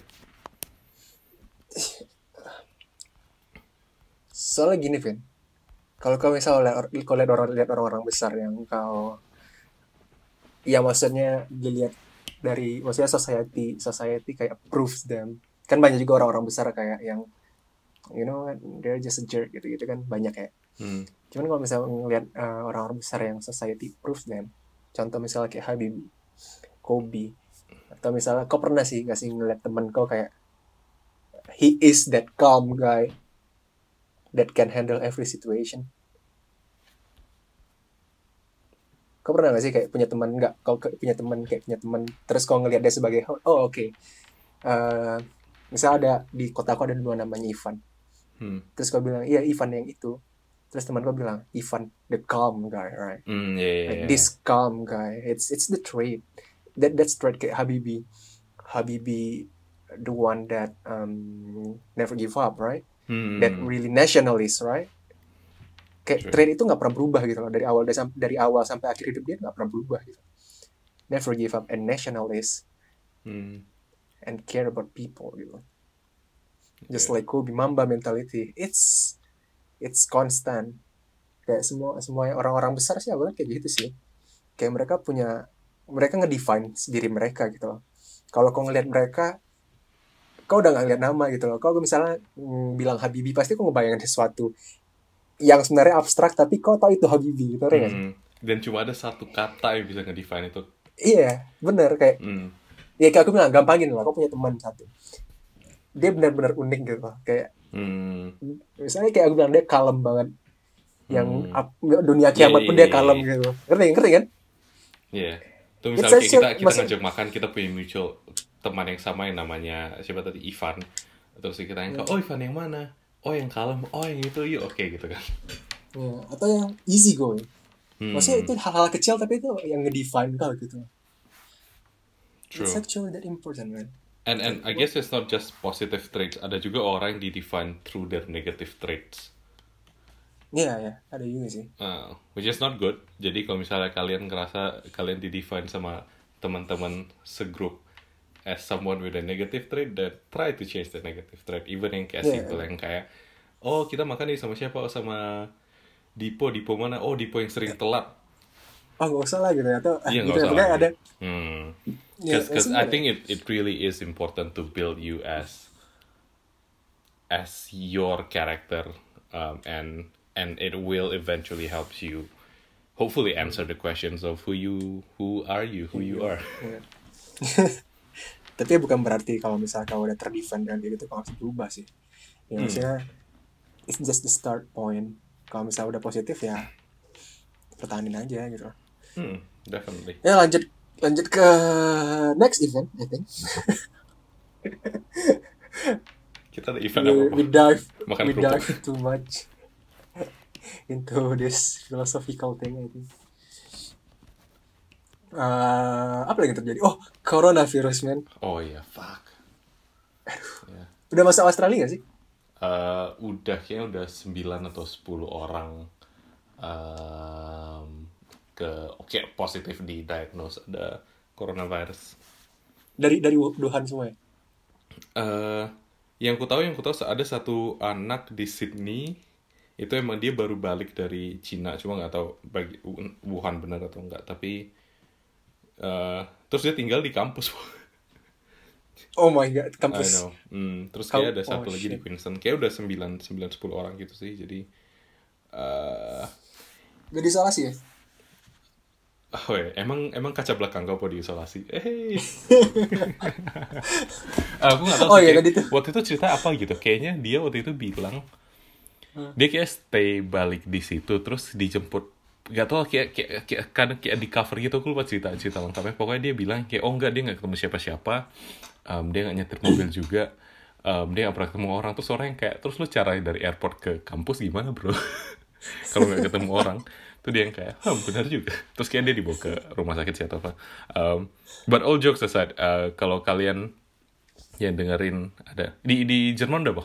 Soalnya gini Vin, kalau kau misalnya kau lihat orang-orang besar yang kau ya maksudnya dilihat dari maksudnya society society kayak proves them, kan banyak juga orang-orang besar kayak yang you know they're just a jerk gitu gitu kan banyak ya. Hmm. Cuman kalau misalnya ngelihat orang-orang besar yang society proves them, contoh misalnya kayak Habibie, Kobe, atau misalnya kau pernah sih nggak sih ngeliat temen kau kayak he is that calm guy that can handle every situation. Kau pernah gak sih kayak punya teman nggak kau punya teman kayak punya teman terus kau ngelihat dia sebagai oh oke okay. uh, misal ada di kotaku ada dua namanya Ivan, Hmm. terus kau bilang iya Ivan yang itu, terus teman kau bilang Ivan the calm guy, right? Hmm. Yeah, yeah, Like yeah. this calm guy, it's the trait that's trait kayak Habibie the one that never give up, right? That Hmm. really nationalist, right? Kayak True. trait itu nggak pernah berubah gitu loh dari awal sampai akhir hidup dia nggak pernah berubah gitu. Never give up and nationalist Hmm. and care about people gitu. Just Yeah. like Kobe Mamba mentality, it's constant. Kayak semua orang-orang besar sih awalnya kayak gitu sih. Kayak mereka ngedefine diri mereka gitu loh. Kalau kau ngelihat mereka, kau udah nggak ngeliat nama gitu loh. Kalau misalnya bilang Habibie pasti kau ngebayangin sesuatu yang sebenarnya abstrak tapi kau tahu itu Habibie gitu nggak sih? Hmm. Dan cuma ada satu kata yang bisa ngedefine itu. Iya, bener kayak Hmm. ya kayak aku bilang gampangin lah. Kau punya teman satu, dia benar-benar unik gitu loh. Kayak Hmm. misalnya kayak aku bilang dia kalem banget. Yang Hmm. dunia Yeah, kiamat yeah, pun yeah, dia yeah, kalem yeah. gitu. Ngerti kan? Yeah. Tuh It's misalnya kayak actually kita maksud ngajak makan, kita punya mutual teman yang sama yang namanya siapa tadi, Ivan. Terus kita yang oh Ivan yang mana? Oh yang kalem, oh yang itu, yuk oke gitu kan. ya, atau yang easy going. Maksudnya Hmm. itu hal-hal kecil tapi itu yang ngedefine kau gitu. It's True. actually that important, man. And Kayak I guess it's not just positive traits. Ada juga orang yang di-define through their negative traits. iya ya, ada juga sih. Which is not good. Jadi kalau misalnya kalian ngerasa kalian di-define sama teman-teman segrup as someone with a negative trait, then try to change the negative trait. Even yang kayak simple, Iya. yang kayak, oh kita makan nih sama siapa? Oh sama Dipo. Dipo mana? Oh Dipo yang sering telat. Oh nggak usah lah gitu ya. Atau Iya gitu nggak ya. usah Pokoknya lagi. ada. Ya Cause I sebenarnya. think it really is important to build you as as your character, and it will eventually helps you hopefully answer the questions of who are you, who you are. Ya. Tapi bukan berarti kalau misalnya kau udah terdefend dan kayak gitu kau harus berubah sih. Ya maksudnya it's just the start point. Kalau misalnya udah positif ya pertahanin aja gitu. Definitely. Ya lanjut ke next event, I think. Kita ada event apa? We dive Makan kerupuk. too much into this philosophical thing, I think. Apa lagi terjadi? Oh, coronavirus, man. Oh iya, fuck. Yeah. Udah masuk Australia gak sih? Kayaknya udah 9 atau 10 orang positif di diagnose ada coronavirus. Dari Wuhan semua ya? Yang ku tahu ada satu anak di Sydney, itu emang dia baru balik dari Cina, cuma nggak tahu Wuhan benar atau enggak, tapi terus dia tinggal di kampus. Oh my god, I kampus. know. Terus kayak ada satu lagi di Queensland, kayak udah 9-10 orang gitu sih, jadi Gak diisolasi ya? oh ya, emang kaca belakang kau diisolasi? Aku nggak tahu. Oh iya tadi tuh. Waktu itu cerita apa gitu? Kayaknya dia waktu itu bilang dia kayak stay balik di situ, terus dijemput. Gak tau kayak di cover gitu, aku lupa cerita lengkapnya. Pokoknya dia bilang kayak enggak, dia nggak ketemu siapa-siapa, dia nggak nyetir mobil juga, dia nggak pernah ketemu orang. Terus orang yang kayak, terus lu cara dari airport ke kampus gimana bro? Kalau nggak ketemu orang. Tuh dia yang kayak, benar juga. Terus kayak dia dibawa ke rumah sakit sih atau apa. But all jokes aside, kalau kalian yang dengerin ada di Jerman udah apa?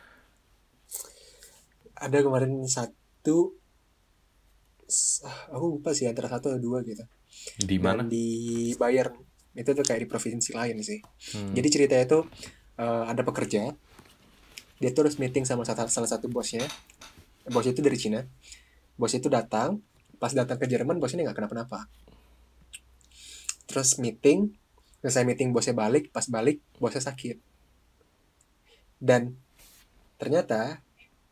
Ada kemarin satu, aku lupa sih antara 1 atau 2 gitu. Di mana? Dan di Bayern. Itu tuh kayak di provinsi lain sih. Jadi ceritanya tuh ada pekerja, dia tuh harus meeting sama salah satu bosnya. Bosnya itu dari Cina. Bos itu datang, pas datang ke Jerman bosnya nggak kenapa-napa. Terus selesai meeting bosnya balik, pas balik bosnya sakit. Dan ternyata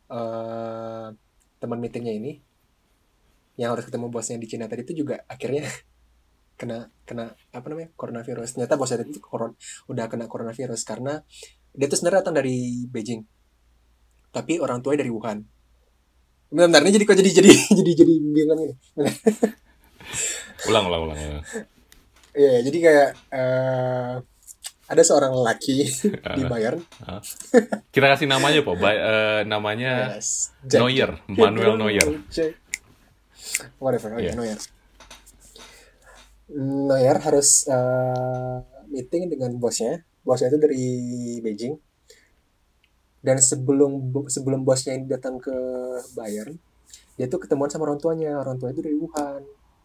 teman meetingnya ini yang harus ketemu bosnya di Cina tadi itu juga akhirnya kena apa namanya, coronavirus. Ternyata bosnya itu udah kena coronavirus karena dia tuh sebenarnya datang dari Beijing, tapi orang tuanya dari Wuhan. Bentar, ini jadi bingung gini. Ulang. Iya, jadi kayak ada seorang lelaki di Bayern. Kita kasih namanya po, namanya Neuer, Manuel Neuer. Whatever, Neuer. Neuer harus meeting dengan bosnya. Bosnya itu dari Beijing. Dan sebelum bosnya ini datang ke Bayern, dia tuh ketemuan sama orang tuanya. Orang tuanya itu dari Wuhan.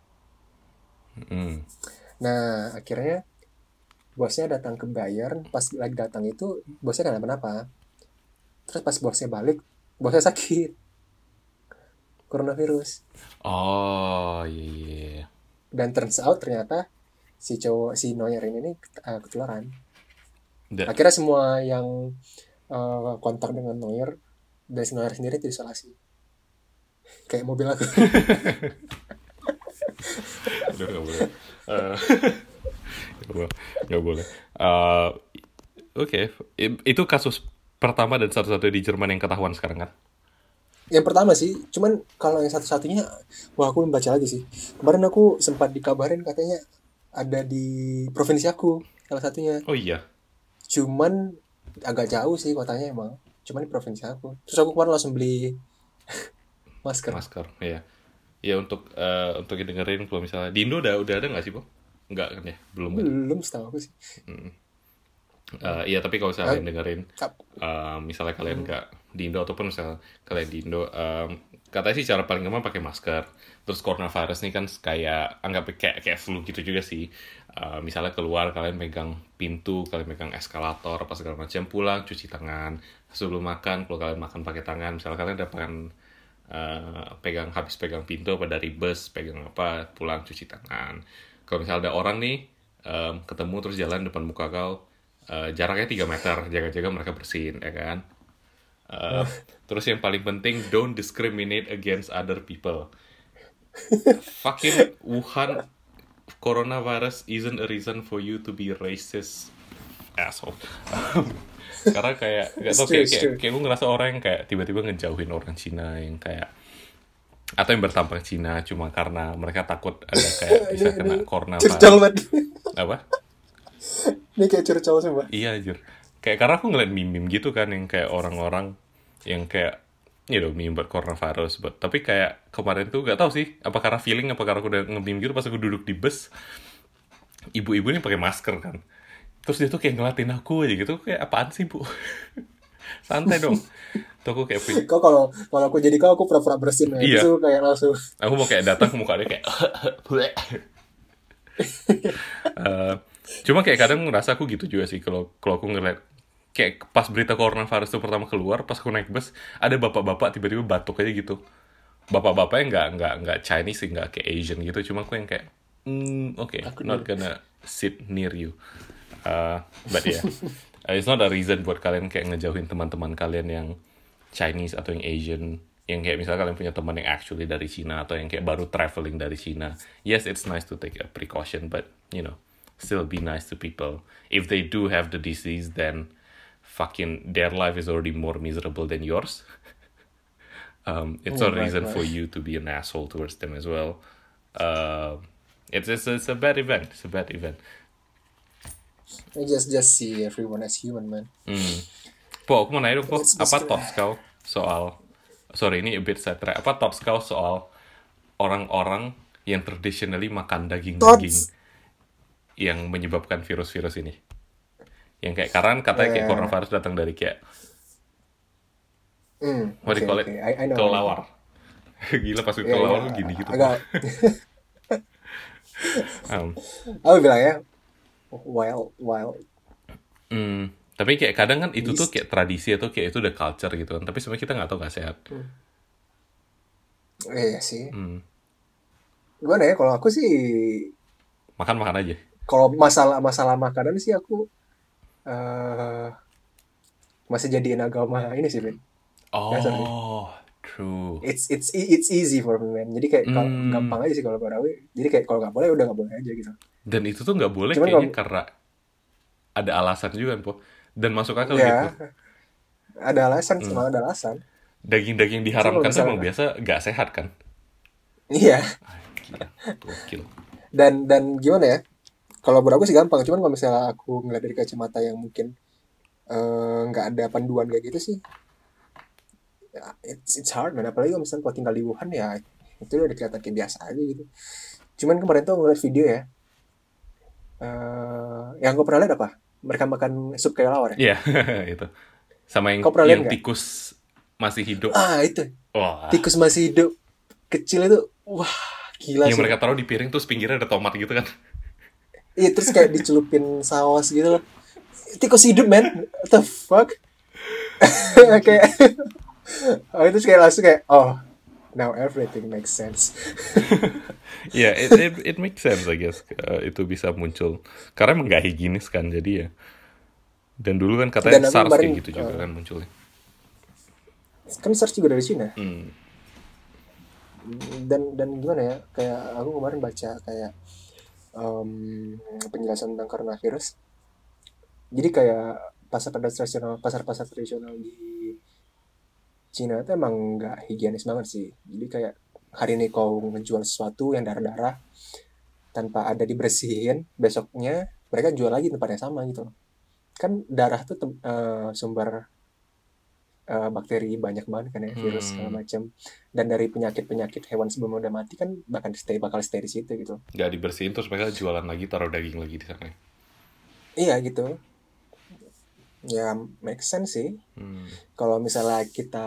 Nah, akhirnya bosnya datang ke Bayern. Pas lagi datang itu, bosnya gak kenapa-napa. Terus pas bosnya balik, bosnya sakit. Coronavirus. Oh, iya. Dan turns out ternyata si Neuer ini ketularan. Akhirnya semua yang kontak dengan Neuer dan si Neuer sendiri diisolasi. Kayak mobil aku. Aduh, gak boleh. Oke. Itu kasus pertama dan satu-satunya di Jerman yang ketahuan sekarang kan? Yang pertama sih, cuman kalau yang satu-satunya, wah aku belum baca lagi sih. Kemarin aku sempat dikabarin katanya ada di provinsi aku salah satunya. Oh iya. Cuman agak jauh sih kotanya emang. Cuman di provinsi aku. Terus aku kemarin langsung beli masker. Iya. Ya untuk dengerin kalau misalnya di Indo udah ada nggak sih, Bo? Enggak kan ya? Belum setahu aku sih. Iya, tapi kalau misalnya kalian dengerin, misalnya kalian nggak di Indo ataupun misalnya kalian di Indo, katanya sih cara paling gampang pakai masker. Terus coronavirus ini kan kayak anggap kayak flu gitu juga sih. Misalnya keluar kalian megang pintu, kalian megang eskalator apa segala macam, pulang cuci tangan. Sebelum makan, kalau kalian makan pakai tangan, misalnya kalian habis pegang pintu apa dari bus, pegang apa, pulang cuci tangan. Kalau misalnya ada orang nih ketemu terus jalan depan muka kau, jaraknya 3 meter, jaga-jaga mereka bersihin, ya kan? Terus yang paling penting, don't discriminate against other people. Fucking Wuhan coronavirus isn't a reason for you to be racist, asshole. Karena kayak gak tau, kayak gue ngerasa orang yang kayak tiba-tiba ngejauhin orang Cina yang kayak, atau yang bertampang Cina cuma karena mereka takut ada kayak bisa kena coronavirus. Curcol banget. Apa? Ini kayak curcol semua. Iya anjir. Kayak karena aku ngeliat meme-meme gitu kan yang kayak orang-orang yang kayak meme buat coronavirus, tapi kayak kemarin tuh gak tau sih apa karena feeling, apa karena aku udah nge-meme gitu pas aku duduk di bus, ibu-ibu ini pakai masker kan, terus dia tuh kayak ngeliatin aku aja gitu, kayak apaan sih bu? Santai dong. Tuh aku kayak kok kalau aku jadi aku pura-pura bersin ya. Iya. Itu kayak langsung aku mau kayak datang ke muka dia kayak cuma kayak kadang ngerasa aku gitu juga sih kalau aku ngeliat kayak pas berita coronavirus itu pertama keluar, pas aku naik bus ada bapak-bapak tiba-tiba batuk aja gitu. Bapak-bapaknya nggak Chinese sih, nggak kayak Asian gitu, cuma aku yang kayak okay, not gonna sit near you. But yeah, it's not a reason buat kalian kayak ngejauhin teman-teman kalian yang Chinese atau yang Asian, yang kayak misalnya kalian punya teman yang actually dari Cina atau yang kayak baru traveling dari Cina. Yes, it's nice to take a precaution, but still be nice to people. If they do have the disease, then fucking their life is already more miserable than yours. It's a reason for you to be an asshole towards them as well. It's a bad event. It's a bad event. I just see everyone as human, man. Po, aku mau nanya dong, Po, apa thoughts kau soal, sorry ini a bit sidetrack, apa thoughts kau soal orang-orang yang traditionally makan daging-daging yang menyebabkan virus-virus ini? Yang kayak karena katanya kayak coronavirus datang dari kayak what do you call it? I know, kelelawar. Gila pas kelelawar lu gini gitu. Agak aku bilang ya wild. Tapi kayak kadang kan itu tuh kayak tradisi atau kayak itu udah culture gitu kan, tapi sebenarnya kita nggak tahu nggak sehat. Iya sih. Gimana ya, kalau aku sih makan aja. Kalau masalah makanan sih aku masih jadiin agama ini sih, Ben. True. It's easy for me, man. Jadi kayak gampang aja sih kalau aku. Jadi kayak kalau nggak boleh udah nggak boleh aja gitu. Dan itu tuh nggak boleh kayaknya karena ada alasan juga kan, Po. Dan masuk akal gitu. Ada alasan, semua ada alasan. Daging-daging diharamkan tuh emang biasa nggak sehat kan? Iya. Gokil. Dan gimana ya? Kalau buat aku sih gampang, cuman kalau misalnya aku ngeliat dari kacamata yang mungkin nggak ada panduan kayak gitu sih, ya, it's hard, man. Apalagi kalau misalnya kalau tinggal di Wuhan ya itu udah kelihatan kayak biasa aja gitu. Cuman kemarin tuh ngeliat video ya, yang gue pernah lihat apa? Mereka makan sup kelelawar ya? Iya, itu. Sama yang tikus masih hidup. Itu. Tikus masih hidup kecil itu, wah gila sih. Yang mereka taruh di piring terus pinggirnya ada tomat gitu kan? Iya, terus kayak dicelupin saus gitu loh. Tikus hidup, man. What the fuck? Kayak itu kayak langsung kayak now everything makes sense. Yeah, it makes sense, I guess. Itu bisa muncul karena emang gak higienis kan, jadi ya. Dan dulu kan katanya SARS kayak gitu juga kan munculnya. Kan SARS juga dari Cina. Dan gimana ya? Kayak aku kemarin baca kayak penjelasan tentang coronavirus. Jadi kayak pasar tradisional di Cina itu emang nggak higienis banget sih. Jadi kayak hari ini kau ngejual sesuatu yang darah-darah tanpa ada dibersihin, besoknya mereka jual lagi tempat yang sama gitu. Kan darah tuh sumber bakteri banyak banget kan ya, virus segala macam. Dan dari penyakit hewan sebelum udah mati kan bakal stay di situ gitu. Nggak dibersihin terus mereka jualan lagi, taruh daging lagi di sana. Iya gitu. Ya make sense sih. Kalau misalnya kita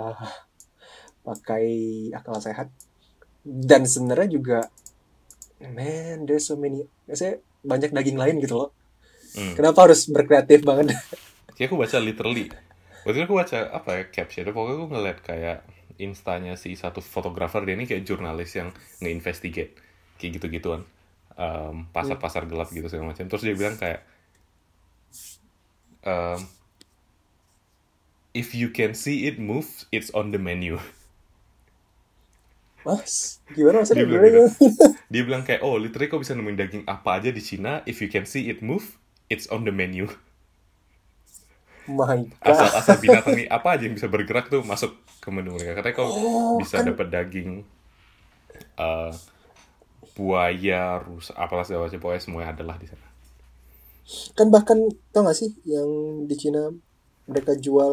pakai akal sehat, dan sebenarnya juga man, there's so many, maksudnya banyak daging lain gitu loh. Kenapa harus berkreatif banget? Ya aku baca literally. Waktu itu aku baca caption, pokoknya aku ngeliat kayak instanya si satu fotografer, dia ini kayak jurnalis yang nge-investigate kayak gitu-gituan, pasar-pasar gelap gitu segala macam. Terus dia bilang kayak if you can see it move, it's on the menu. Mas, gimana maksudnya? Dia bilang gitu. Dia bilang kayak, oh literally kau bisa nemuin daging apa aja di Cina, if you can see it move, it's on the menu. My Asal God. binatang nih apa aja yang bisa bergerak tuh masuk ke menu mereka. Katanya kau bisa Kan dapat daging buaya, rusa, apalah segala macam, pokoknya semuanya adalah di sana. kan bahkan tau gak sih yang di Cina mereka jual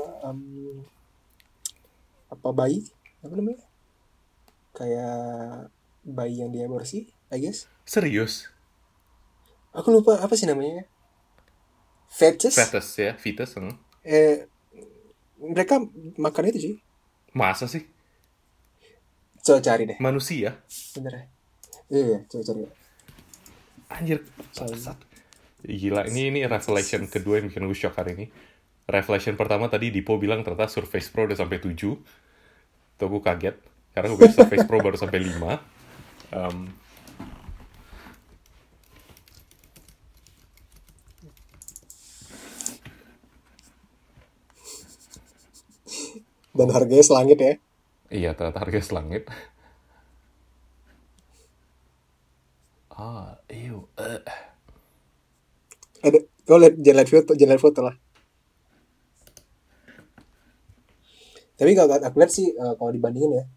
apa bayi apa namanya kayak bayi yang diaborsi I guess Serius? aku lupa apa sih namanya fetus Fetus ya, fetus. mereka makan itu sih. Masa sih? Coba cari deh Manusia? bener ya. Iya coba cari Anjir, China gila, ini revelation kedua yang bikin gue shock hari ini. Revelation pertama tadi Dipo bilang ternyata Surface Pro udah sampai 7. Tuh gue kaget, karena gue pikir Surface Pro baru sampai 5. dan harganya selangit ya. Iya, ternyata harga selangit. Ew. Ada kau lihat jangan lihat foto lah. Tapi kalau aku lihat sih kalau dibandingin ya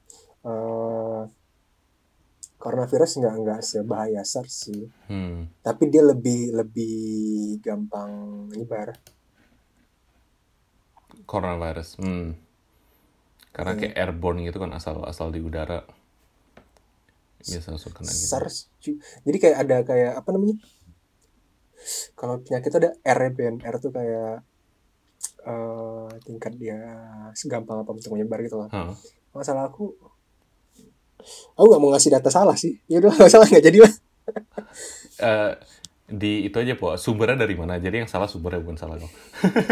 coronavirus nggak sebahaya SARS sih. Tapi dia lebih gampang nyebar. Coronavirus. Karena kayak airborne gitu kan, asal di udara. Biasa langsung kena gitu. SARS. Jadi kayak ada kayak apa namanya? Kalau penyakit itu ada R ya, R tuh kayak tingkat dia segampang apa untuk menyebar gitu loh. Masalah aku nggak mau ngasih data salah sih. Ya udah nggak salah nggak jadi lah. Di itu aja po, sumbernya dari mana? Jadi yang salah sumbernya, bukan salah kau.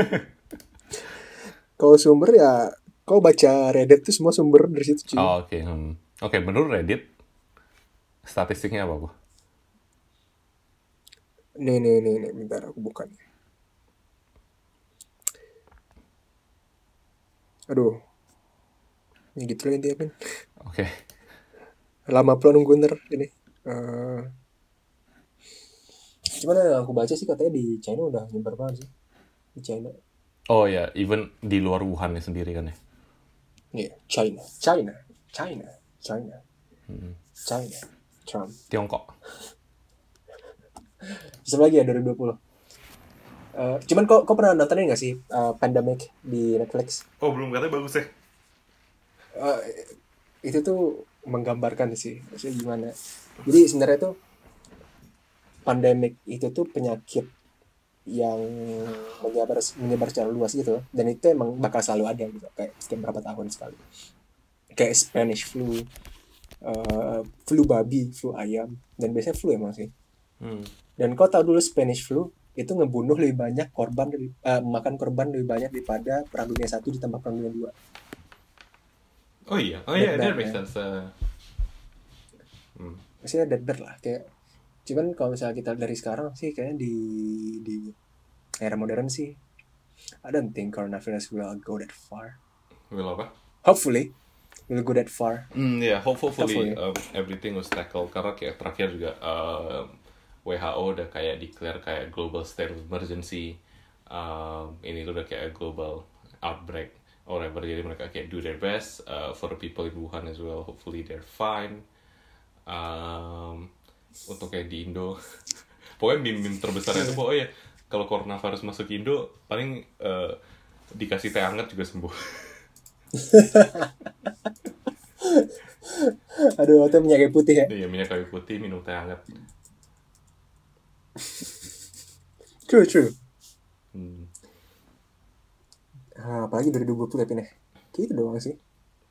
Kalau sumber ya kau baca Reddit tuh semua sumber dari situ cuy. Oh, oke. Oke, menurut Reddit statistiknya apa po? Nih, bentar aku buka nih. Aduh. Ini gitu lah intinya kan. Oke. Lama pula nunggu ntar ini. Cuman yang aku baca sih katanya di China udah nyebar banget sih. Di China. Oh ya, even di luar Wuhan sendiri kan ya? Iya, China. Trump. Tiongkok. Bisa lagi ya 2020. Cuman kok pernah nontonin gak sih Pandemic di Netflix? Oh, belum, katanya bagus ya. Itu tuh menggambarkan sih maksudnya gimana. Jadi sebenarnya tuh pandemic itu tuh penyakit yang menyebar secara luas gitu, dan itu emang bakal selalu ada gitu, kayak setiap berapa tahun sekali, kayak Spanish flu, flu babi, flu ayam, dan biasanya flu emang sih. Dan kau tahu dulu Spanish flu itu ngebunuh lebih banyak korban, makan korban lebih banyak daripada Perang Dunia 1 ditambah Perang Dunia 2. Oh iya, that makes sense. Maksudnya dead lah kayak. Cuman kalau misalnya kita dari sekarang sih kayaknya di era modern sih, I don't think coronavirus will go that far. Will apa? Hopefully will go that far. Hopefully. Everything was tackled. Karena kayak terakhir juga WHO udah kayak declare kayak global state of emergency. Ini tuh udah kayak global outbreak or whatever. Jadi mereka kayak do their best for the people in Wuhan as well. Hopefully they're fine. Untuk kayak di Indo, pokoknya meme terbesarnya itu pokoknya kalau coronavirus masuk Indo paling dikasih teh hangat juga sembuh. Aduh, itu minyak kayu putih ya. Iya, minyak kayu putih, minum teh hangat. True. Apalagi dari 2020 tapi nih gitu doang sih.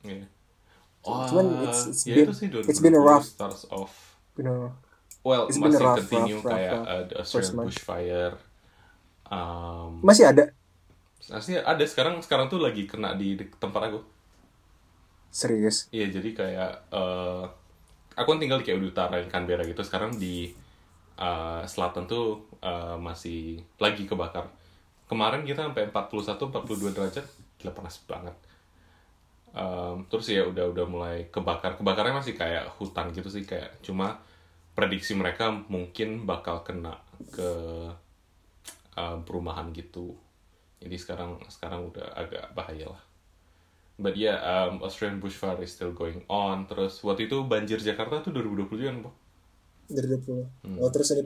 Cuman it's been a rough starts off. Well, masih continue kayak Australian bushfire. Masih ada? Masih ada, sekarang tuh lagi kena di tempat aku. Serius? Iya, jadi kayak aku kan tinggal kayak di utara Canberra gitu. Sekarang di selatan tuh masih lagi kebakar. kemarin kita sampai 41-42 derajat, gila panas banget. Terus ya udah mulai kebakarnya masih kayak hutan gitu sih, kayak cuma prediksi mereka mungkin bakal kena ke perumahan gitu. Jadi sekarang udah agak bahaya lah. But yeah, Australian bushfire is still going on. Terus waktu itu banjir Jakarta tuh 2020 kan, Pak? 2020. Oh, terus ini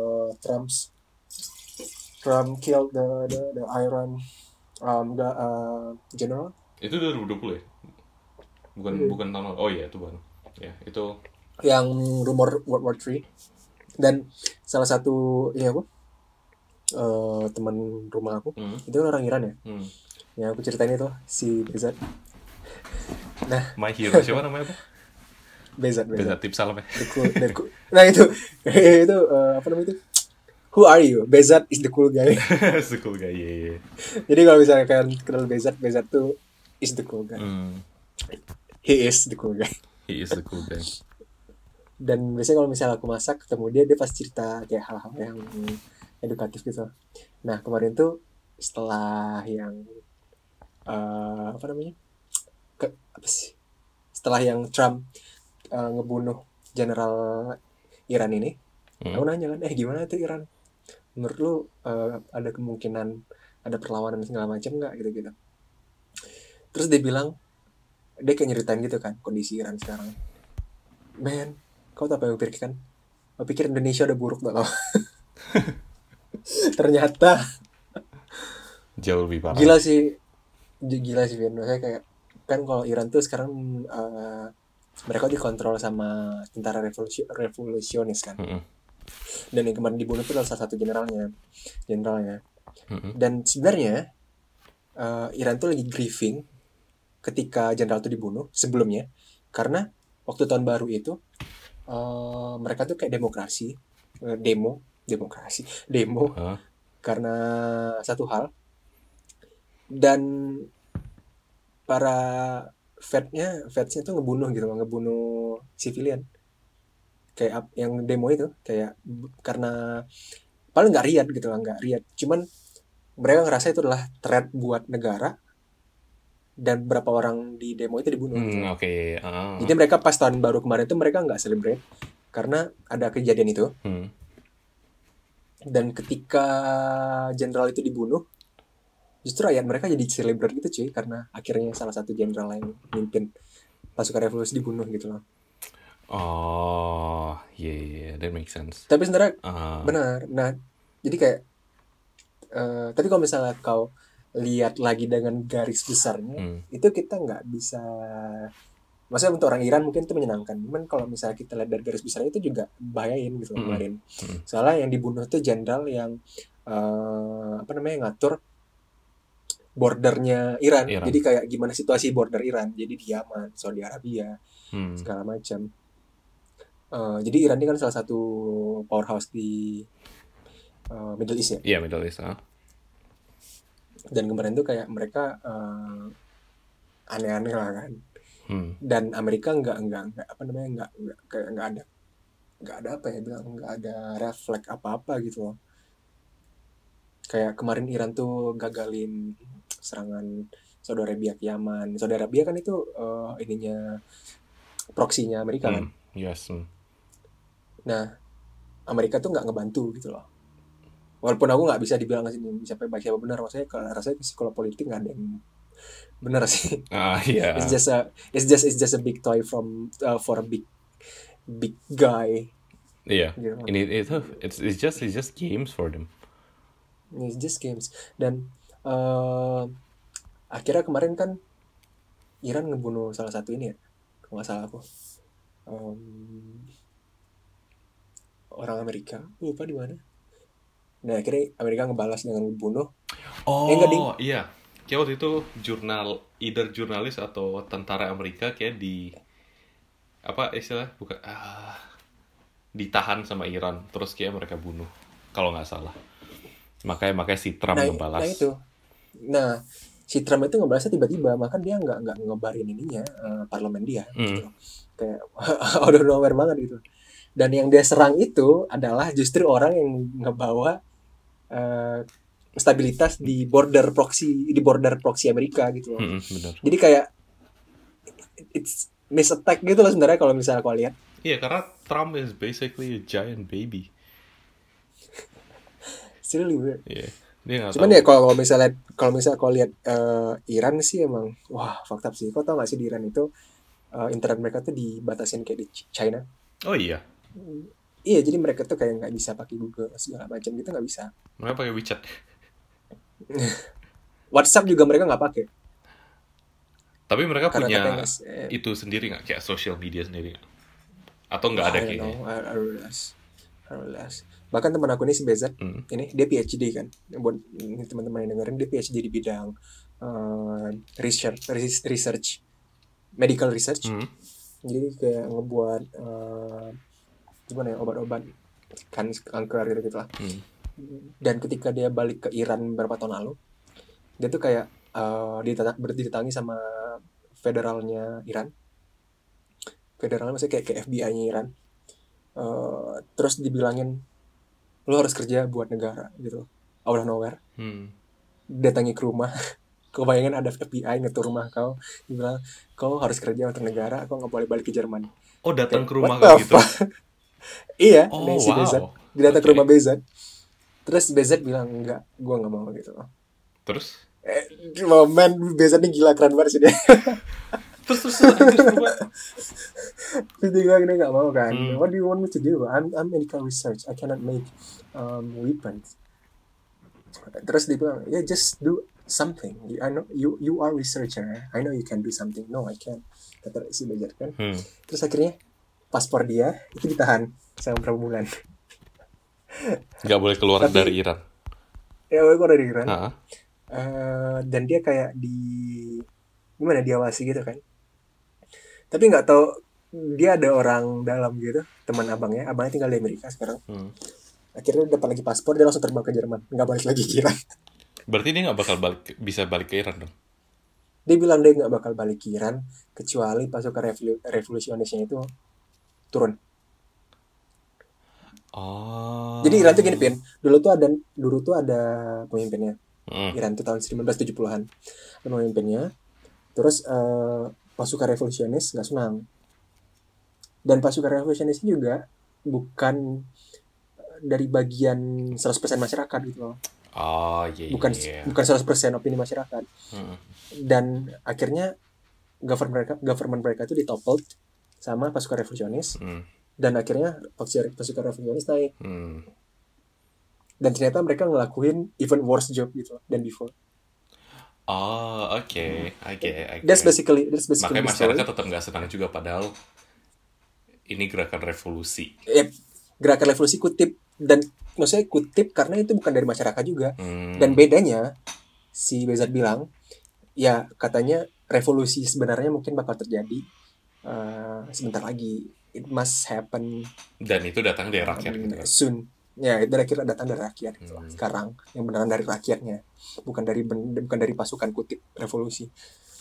Trump killed the Iran the general. Itu 2020 ya? Bukan tahun lalu. Oh iya, itu baru. Ya, itu Yang rumor World War III. Dan salah satu teman rumah aku itu kan orang Iran ya. Yang aku ceritain itu si Bezat. Nah, My hero siapa namanya, Pak? Bezat Tips salam ya. Nah itu apa namanya itu? Who are you? Bezat is the cool guy. The cool guy, yeah. Jadi kalau misalnya kalian kenal Bezat tuh is the cool guy. He is the cool guy. He is the cool guy. Dan biasanya kalau misalnya aku masak ketemu dia pasti cerita kayak hal-hal yang edukatif gitu. Nah kemarin tuh setelah yang apa namanya? Setelah yang Trump ngebunuh Jenderal Iran ini, aku nanya kan, gimana tuh Iran? Menurut lu ada kemungkinan ada perlawanan segala macam nggak gitu-gitu? Terus dia bilang, dia kayak nyeritain gitu kan kondisi Iran sekarang. Man, kau tahu apa yang pikirkan? Kau pikir Indonesia udah buruk tau? Ternyata jauh lebih parah. Gila sih Vin. Maksudnya kayak kan kalau Iran tuh sekarang mereka dikontrol sama tentara revolusionis kan. Dan yang kemarin dibunuh itu salah satu generalnya. Dan sebenarnya Iran tuh lagi grieving ketika jenderal itu dibunuh sebelumnya, karena waktu tahun baru itu mereka tuh kayak demo karena satu hal, dan para fadsnya tuh ngebunuh civilian kayak yang demo itu, kayak karena paling nggak riat, cuman mereka ngerasa itu adalah threat buat negara, dan berapa orang di demo itu dibunuh gitu. Okay. Jadi mereka pas tahun baru kemarin itu mereka nggak celebrate karena ada kejadian itu. Dan ketika jenderal itu dibunuh, justru rakyat mereka jadi celebrate gitu cuy, karena akhirnya salah satu jenderal yang memimpin pasukan revolusi dibunuh gitu loh. Oh, yeah, that makes sense. Tapi sebenarnya benar. Nah, jadi kayak tapi kalau misalnya kau lihat lagi dengan garis besarnya, itu kita nggak bisa. Maksudnya untuk orang Iran mungkin itu menyenangkan. Cuman kalau misalnya kita lihat dari garis besarnya itu juga bahayain gitu kemarin. Soalnya yang dibunuh itu jenderal yang ngatur bordernya Iran. Jadi kayak gimana situasi border Iran. Jadi di Yaman, Saudi Arabia, segala macam. Jadi Iran ini kan salah satu powerhouse di Middle East ya. Iya, Middle East. Dan kemarin tuh kayak mereka aneh-aneh lah kan. Dan Amerika nggak ada refleks apa-apa gitu loh. Kayak kemarin Iran tuh gagalin serangan Saudi Arabia ke Yaman. Saudi Arabia kan itu proksinya Amerika kan. Yes. Nah, Amerika tuh nggak ngebantu gitu loh. Walaupun aku nggak bisa dibilang siapa benar, maksudnya rasanya kalau politik nggak ada yang benar sih. Yeah. It's just a big toy for a big guy. Iya. Yeah. It's just games for them. It's just games. Dan akhirnya kemarin kan Iran ngebunuh salah satu ini ya, kalau nggak salah aku, orang Amerika, lupa di mana. Nah akhirnya Amerika ngebalas dengan ngebunuh. Iya. Kayak waktu itu jurnalis atau tentara Amerika kayak ditahan sama Iran, terus kayak mereka bunuh kalau nggak salah. Makanya si Trump ngebalas. Nah si Trump itu ngebalasnya tiba-tiba, maka dia nggak ngebarin ininya parlemen dia gitu. Kayak out of nowhere banget gitu. Dan yang dia serang itu adalah justru orang yang ngebawa stabilitas di border proxy Amerika gitu loh. Benar. Jadi kayak it's miss attack gitu loh sebenarnya kalau misalnya kau lihat. Iya, karena Trump is basically a giant baby. It's really weird. Iya, dia nggak Cuman tahu. ya kalau misalnya kau lihat Iran sih emang wah fucked up sih. Kau tau gak sih di Iran itu internet mereka tuh dibatasin kayak di China. Oh iya, Iya, jadi mereka tuh kayak nggak bisa pakai Google segala macam gitu, nggak bisa. mereka pakai WeChat. WhatsApp juga mereka nggak pakai Tapi mereka karena punya katanya itu sendiri nggak, kayak social media sendiri nggak? Atau nggak wah, ada I don't kayaknya? know, I don't realize. I don't realize. Bahkan teman aku ini si BZ, ini dia PhD kan. Buat teman-teman yang dengerin, dia PhD di bidang research, medical research. Jadi kayak ngebuat gimana ya, obat-obat kan kanker gitu lah. Dan ketika dia balik ke Iran beberapa tahun lalu, dia tuh kayak didatangi sama federalnya Iran. Federalnya maksudnya kayak FBI-nya Iran. Terus dibilangin lo harus kerja buat negara gitu, out of nowhere. Datangi ke rumah. Kau bayangin ada FBI ngetur rumah kau, dibilang kau harus kerja untuk negara, kau nggak boleh balik ke Jerman. Oh, datang Kayak ke what rumah the kayak gitu. fuck? Iya, Oh, si BZ wow. dia datang ke Oke. rumah BZ. Terus BZ bilang enggak, gua nggak mau gitu. Terus? Man, BZ ini gila, keren banget sih dia. Terus anjir berubah. Terus dia bilang dia nggak mau kan. What do you want me to do? I'm medical research. I cannot make weapons. Terus dia bilang, yeah, just do something. I know you are researcher. I know you can do something. No, I can't. Kata si Bajar kan. Terus akhirnya paspor dia itu ditahan selama berapa bulan. Nggak boleh keluar Tapi dari Iran. ya gue dari Iran. Dan dia kayak gimana, diawasi gitu kan. Tapi nggak tahu dia ada orang dalam gitu, teman abangnya tinggal di Amerika sekarang. Akhirnya dapat lagi paspor, dia langsung terbang ke Jerman, nggak balik lagi ke Iran. Berarti dia nggak bakal bisa balik ke Iran dong? Dia bilang dia nggak bakal balik ke Iran kecuali pasukan revolusionisnya itu turun. Oh. Jadi Iran tuh gini, Pin, dulu tuh ada pemimpinnya. Iran tuh tahun 1970-an pemimpinnya. Terus pasukan revolusionis nggak senang. Dan pasukan revolusionis juga bukan dari bagian 100% masyarakat gitu loh. Oh iya. Bukan 100% opini masyarakat. Dan akhirnya government mereka itu ditoppled sama pasukan revolusionis. Dan akhirnya pasukan revolusionis naik. Dan ternyata mereka ngelakuin even worse job gitu loh than before. Oh, oke. I get. That's basically Makanya the masyarakat story. tetap nggak senang juga, padahal ini gerakan revolusi. Gerakan revolusi kutip, dan maksudnya kutip karena itu bukan dari masyarakat juga. Dan bedanya si Bezat bilang, ya katanya revolusi sebenarnya mungkin bakal terjadi sebentar lagi. It must happen. Dan itu datang dari rakyat gitu kan. Soon. Ya, itu akhirnya datang dari rakyat gitu. Sekarang yang beneran dari rakyatnya, bukan dari pasukan kutip revolusi.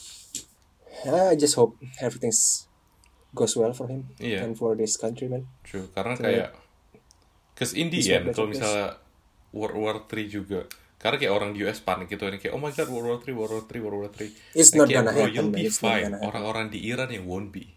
I just hope everything goes well for him and for this country, man. True, karena kayak cause in the end kalau misalnya World War 3 juga, karena kayak orang di US panik gitu, kayak oh my god, World War 3. It's not gonna bro, happen, you'll be it's not fine. gonna happen. Orang-orang di Iran yang won't be.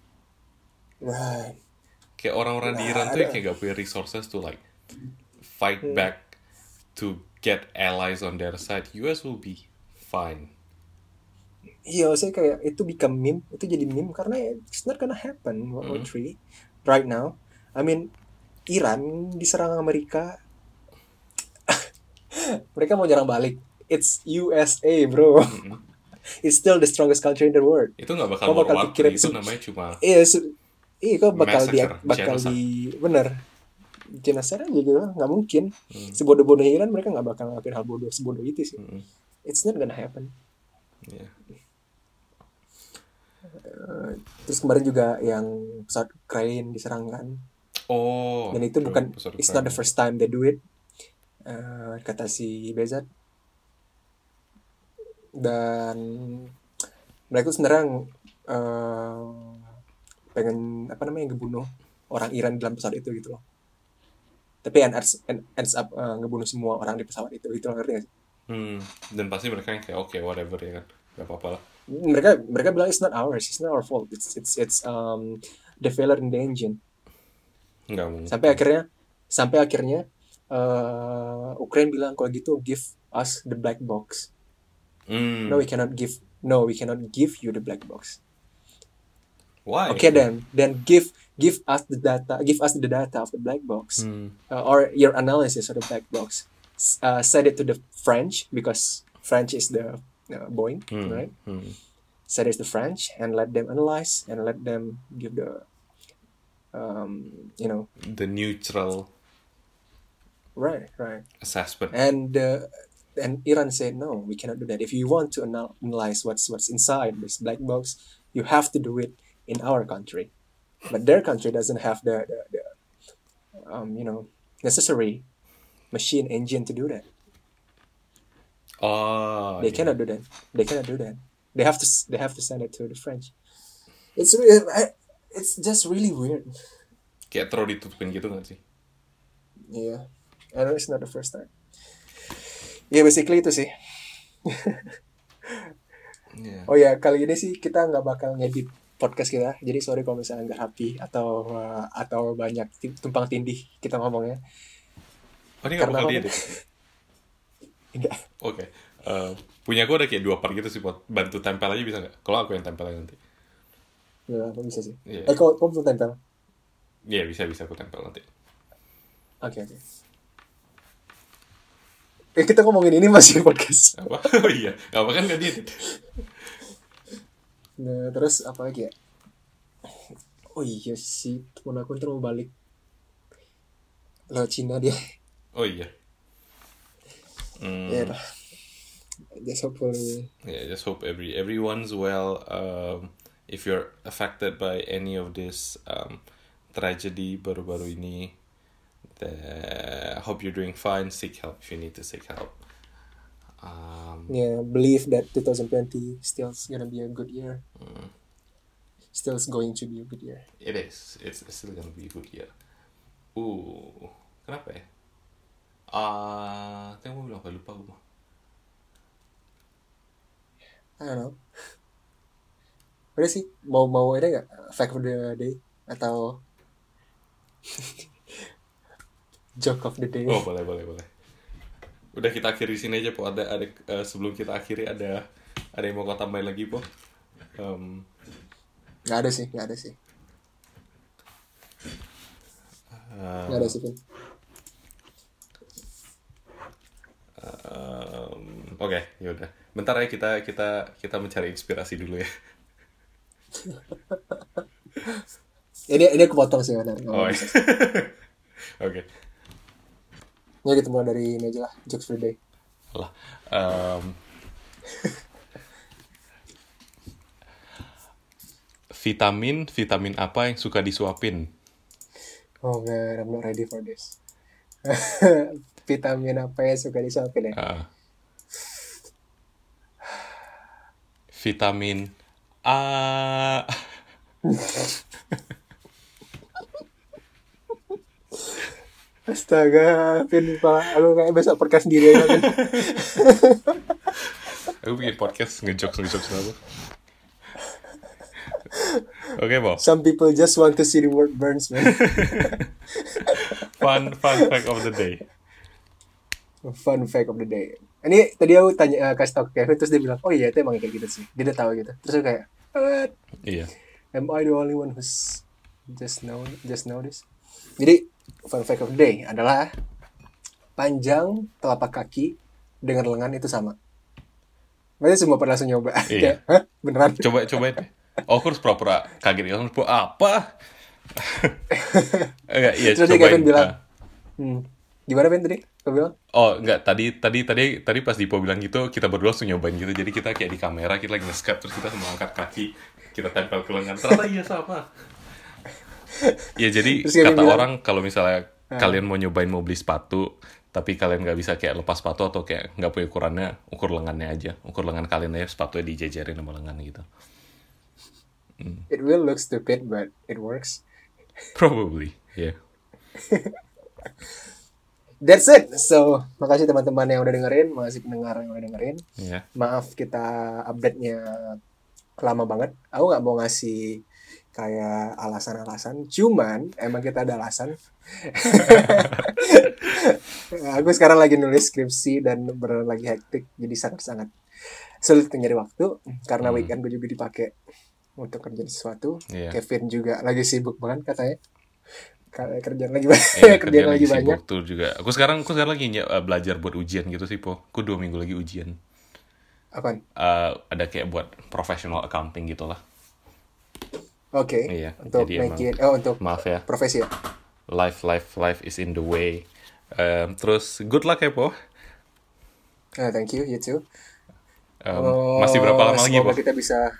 Right. Kayak orang-orang di Iran tuh yang kayak gak punya resources to like fight back to get allies on their side. US will be fine. Iya, saya kayak itu become meme, itu jadi meme karena it's not gonna happen World War 3 right now. I mean, Iran diserang Amerika, mereka mau nyerang balik. It's USA, bro. It's still the strongest country in the world. Itu nggak bakal World War 3, itu namanya cuma kok bakal genocide. Bener, genocide aja gitu, nggak mungkin. Sebodoh-bodohnya Iran mereka nggak bakal ngelakuin hal sebodoh itu sih. It's not gonna happen. Terus kemarin juga yang pesawat Ukraine diserang kan. Dan itu bukan, it's not the first time they do it, kata si Bezat. Dan mereka tuh sebenarnya pengen ngebunuh orang Iran dalam pesawat itu gitu loh. tapi ends up ngebunuh semua orang di pesawat itu ngerti gak sih? Dan pasti mereka yang kayak oke, whatever ya kan, gak apa-apa lah. Mereka bilang it's not our fault, it's the failure in the engine. Nggak mungkin. Sampai akhirnya Ukraine bilang kalau gitu give us the black box. No, we cannot give you the black box. Why? Okay, then give us the data of the black box, or your analysis of the black box. Send it to the French, because French is the Boeing, right? Send it to the French and let them analyze and let them give the the neutral right assessment. And Iran said no, we cannot do that. If you want to analyze what's inside this black box, you have to do it in our country, but their country doesn't have the necessary machine engine to do that. They cannot do that. They have to send it to the French. It's just really weird. Kayak terlalu ditutupin gitu nggak sih? Yeah, I know it's not the first time. Yeah, basically itu sih. Yeah. Oh ya, kali ini sih kita nggak bakal ngedit podcast kita, jadi sorry kalau misalnya nggak happy atau banyak tumpang tindih kita ngomongnya. Oh, ini nggak bakal diedit? Enggak. Oke. Punya gue ada kayak 2 part gitu sih, buat bantu tempel aja bisa nggak? Kalau aku yang tempelnya nanti. Ya, bisa sih. Yeah. Kok belum tempel? Iya, bisa aku tempel nanti. Oke. Kita ngomongin ini masih podcast. Apa? Oh iya, nggak apa kan nggak diedit. Nah, terus apa lagi ya? Oh iya sih, temen aku ntar mau balik lewat Cina dia. Oh iya. Ya dah. Just hopefully. Yeah, just hope everyone's well. If you're affected by any of this tragedy baru-baru ini, I hope you're doing fine. Seek help if you need to seek help. Believe that 2020 still gonna be a good year. Still going to be a good year. It is. It's still gonna be a good year. Kenapa ya? Tadi mau bilang apa, lupa gue. I don't know. Udah sih, mau ada nggak fact of the day atau joke of the day? Oh, boleh. Udah, kita akhiri sini aja, Po. Ada sebelum kita akhiri ada yang mau kau tambahin lagi, Po? Nggak ada sih. Nggak ada sih, Pin. Oke, yaudah. Bentar ya, kita mencari inspirasi dulu ya. Ini aku potong sih, benar. Oh, iya. Oke. Ya kita mulai dari ini aja lah, jokes for the day. Lah. Vitamin apa yang suka disuapin? Oh man, I'm not ready for this. Vitamin apa yang suka disuapin ya? Vitamin A. Astaga, Pin, aku kayak besok podcast sendiri aja, Pin. Aku bikin podcast ngejokes apa? Oke, Bob. Some people just want to see the world burns, man. Fun fact of the day. Fun fact of the day. Ini tadi aku kasih tau ke Kevin, terus dia bilang, oh iya itu emang kayak gitu sih. Dia udah tahu gitu. Terus aku kayak, what? Iya. Am I the only one who's just know this? Jadi fun fact of the day adalah panjang telapak kaki dengan lengan itu sama. Berarti semua pernah langsung nyoba. Iya. Hah? Beneran? Coba deh. Oh, aku harus pura-pura kaget gitu. Apa? Enggak, iya. Terus dia Kevin bilang, gimana Ben tadi? Kau bilang? Oh, enggak. Tadi pas Dipo bilang gitu, kita berdua langsung nyobain gitu. Jadi kita kayak di kamera, kita lagi nge-skype, terus kita semua angkat kaki, kita tempel ke lengan. Ternyata iya sama. Ya, jadi kata orang kalau misalnya kalian mau nyobain mau beli sepatu, tapi kalian nggak bisa kayak lepas sepatu atau kayak nggak punya ukurannya, ukur lengannya aja. Ukur lengan kalian aja, sepatunya dijejerin sama lengan gitu. It will look stupid, but it works. Probably, yeah. That's it. So, makasih teman-teman yang udah dengerin, makasih pendengar yang udah dengerin. Yeah. Maaf kita update-nya lama banget. Aku nggak mau ngasih kayak alasan-alasan, cuman emang kita ada alasan. Aku sekarang lagi nulis skripsi dan beneran lagi hektik, jadi sangat-sangat sulit nyari waktu karena weekend gue juga dipakai untuk kerjaan sesuatu. Yeah. Kevin juga lagi sibuk banget katanya. Kerjaan lagi banyak, kerjaan lagi banyak. Tuh juga. Aku sekarang lagi belajar buat ujian gitu sih, Po. Aku 2 minggu lagi ujian. Apaan? Ada kayak buat professional accounting gitu lah. Oke. Iya. Untuk Jadi untuk maaf ya. profesi ya. Life is in the way. Terus good luck ya, Po. Thank you, you too. Masih berapa lama lagi, Po? Semoga kita bisa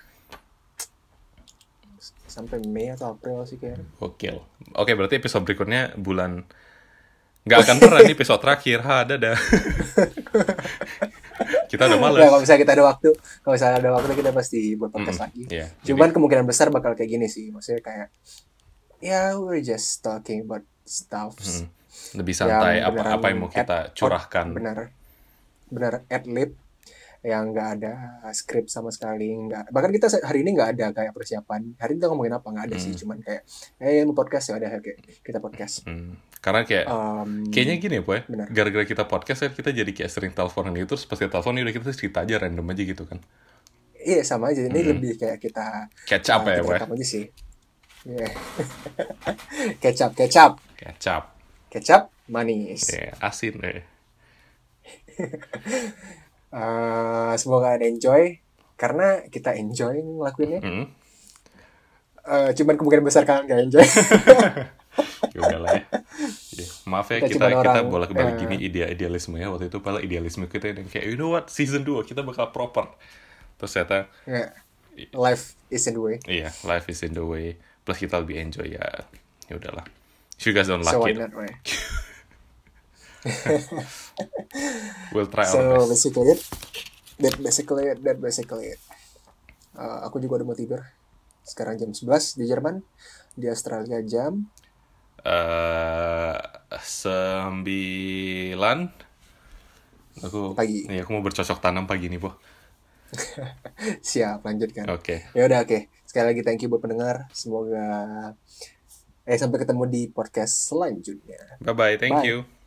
sampai Mei atau April sih kayaknya. Gokil. Oke, berarti episode berikutnya bulan... Nggak akan pernah nih episode terakhir. Dadah. Kita udah males. Nah, kalau misalnya ada waktu kita pasti buat podcast lagi. Yeah, cuman kemungkinan besar bakal kayak gini sih. Maksudnya kayak we're just talking about stuff. Lebih santai, apa yang mau kita curahkan. Benar ad-lib yang nggak ada skrip sama sekali, nggak. Bahkan kita hari ini nggak ada kayak persiapan. Hari ini kita ngomongin apa nggak ada sih, cuman kayak mau podcast ya udah kayak kita podcast. Karena kayaknya gini ya, Po ya. Benar. Gara-gara kita podcast kan kita jadi kayak sering teleponan gitu, terus pas kita telepon udah kita cerita aja random aja gitu kan. Iya sama aja, ini lebih kayak kita catch up ya, Po ya. aja sih. Yeah. Kecap manis. Asin semoga ada enjoy karena kita enjoy ngelakuinnya. Cuman kemungkinan besar kalian gak enjoy. Ya udahlah ya. Maaf ya kita bolak-balik gini idealisme ya. Waktu itu padahal idealisme kita yang kayak you know what, season 2 kita bakal proper. Terus ternyata life is in the way. Iya, life is in the way. Plus kita lebih enjoy ya. Ya udahlah. If you guys don't like it, we'll try our best. That basically it. Aku juga udah mau tidur. Sekarang jam 11 di Jerman, di Australia jam 9. Aku pagi. Iya, aku mau bercocok tanam pagi nih, Po. Siap, lanjutkan. Oke. Ya udah, oke. Sekali lagi thank you buat pendengar. Semoga sampai ketemu di podcast selanjutnya. Bye-bye, thank you.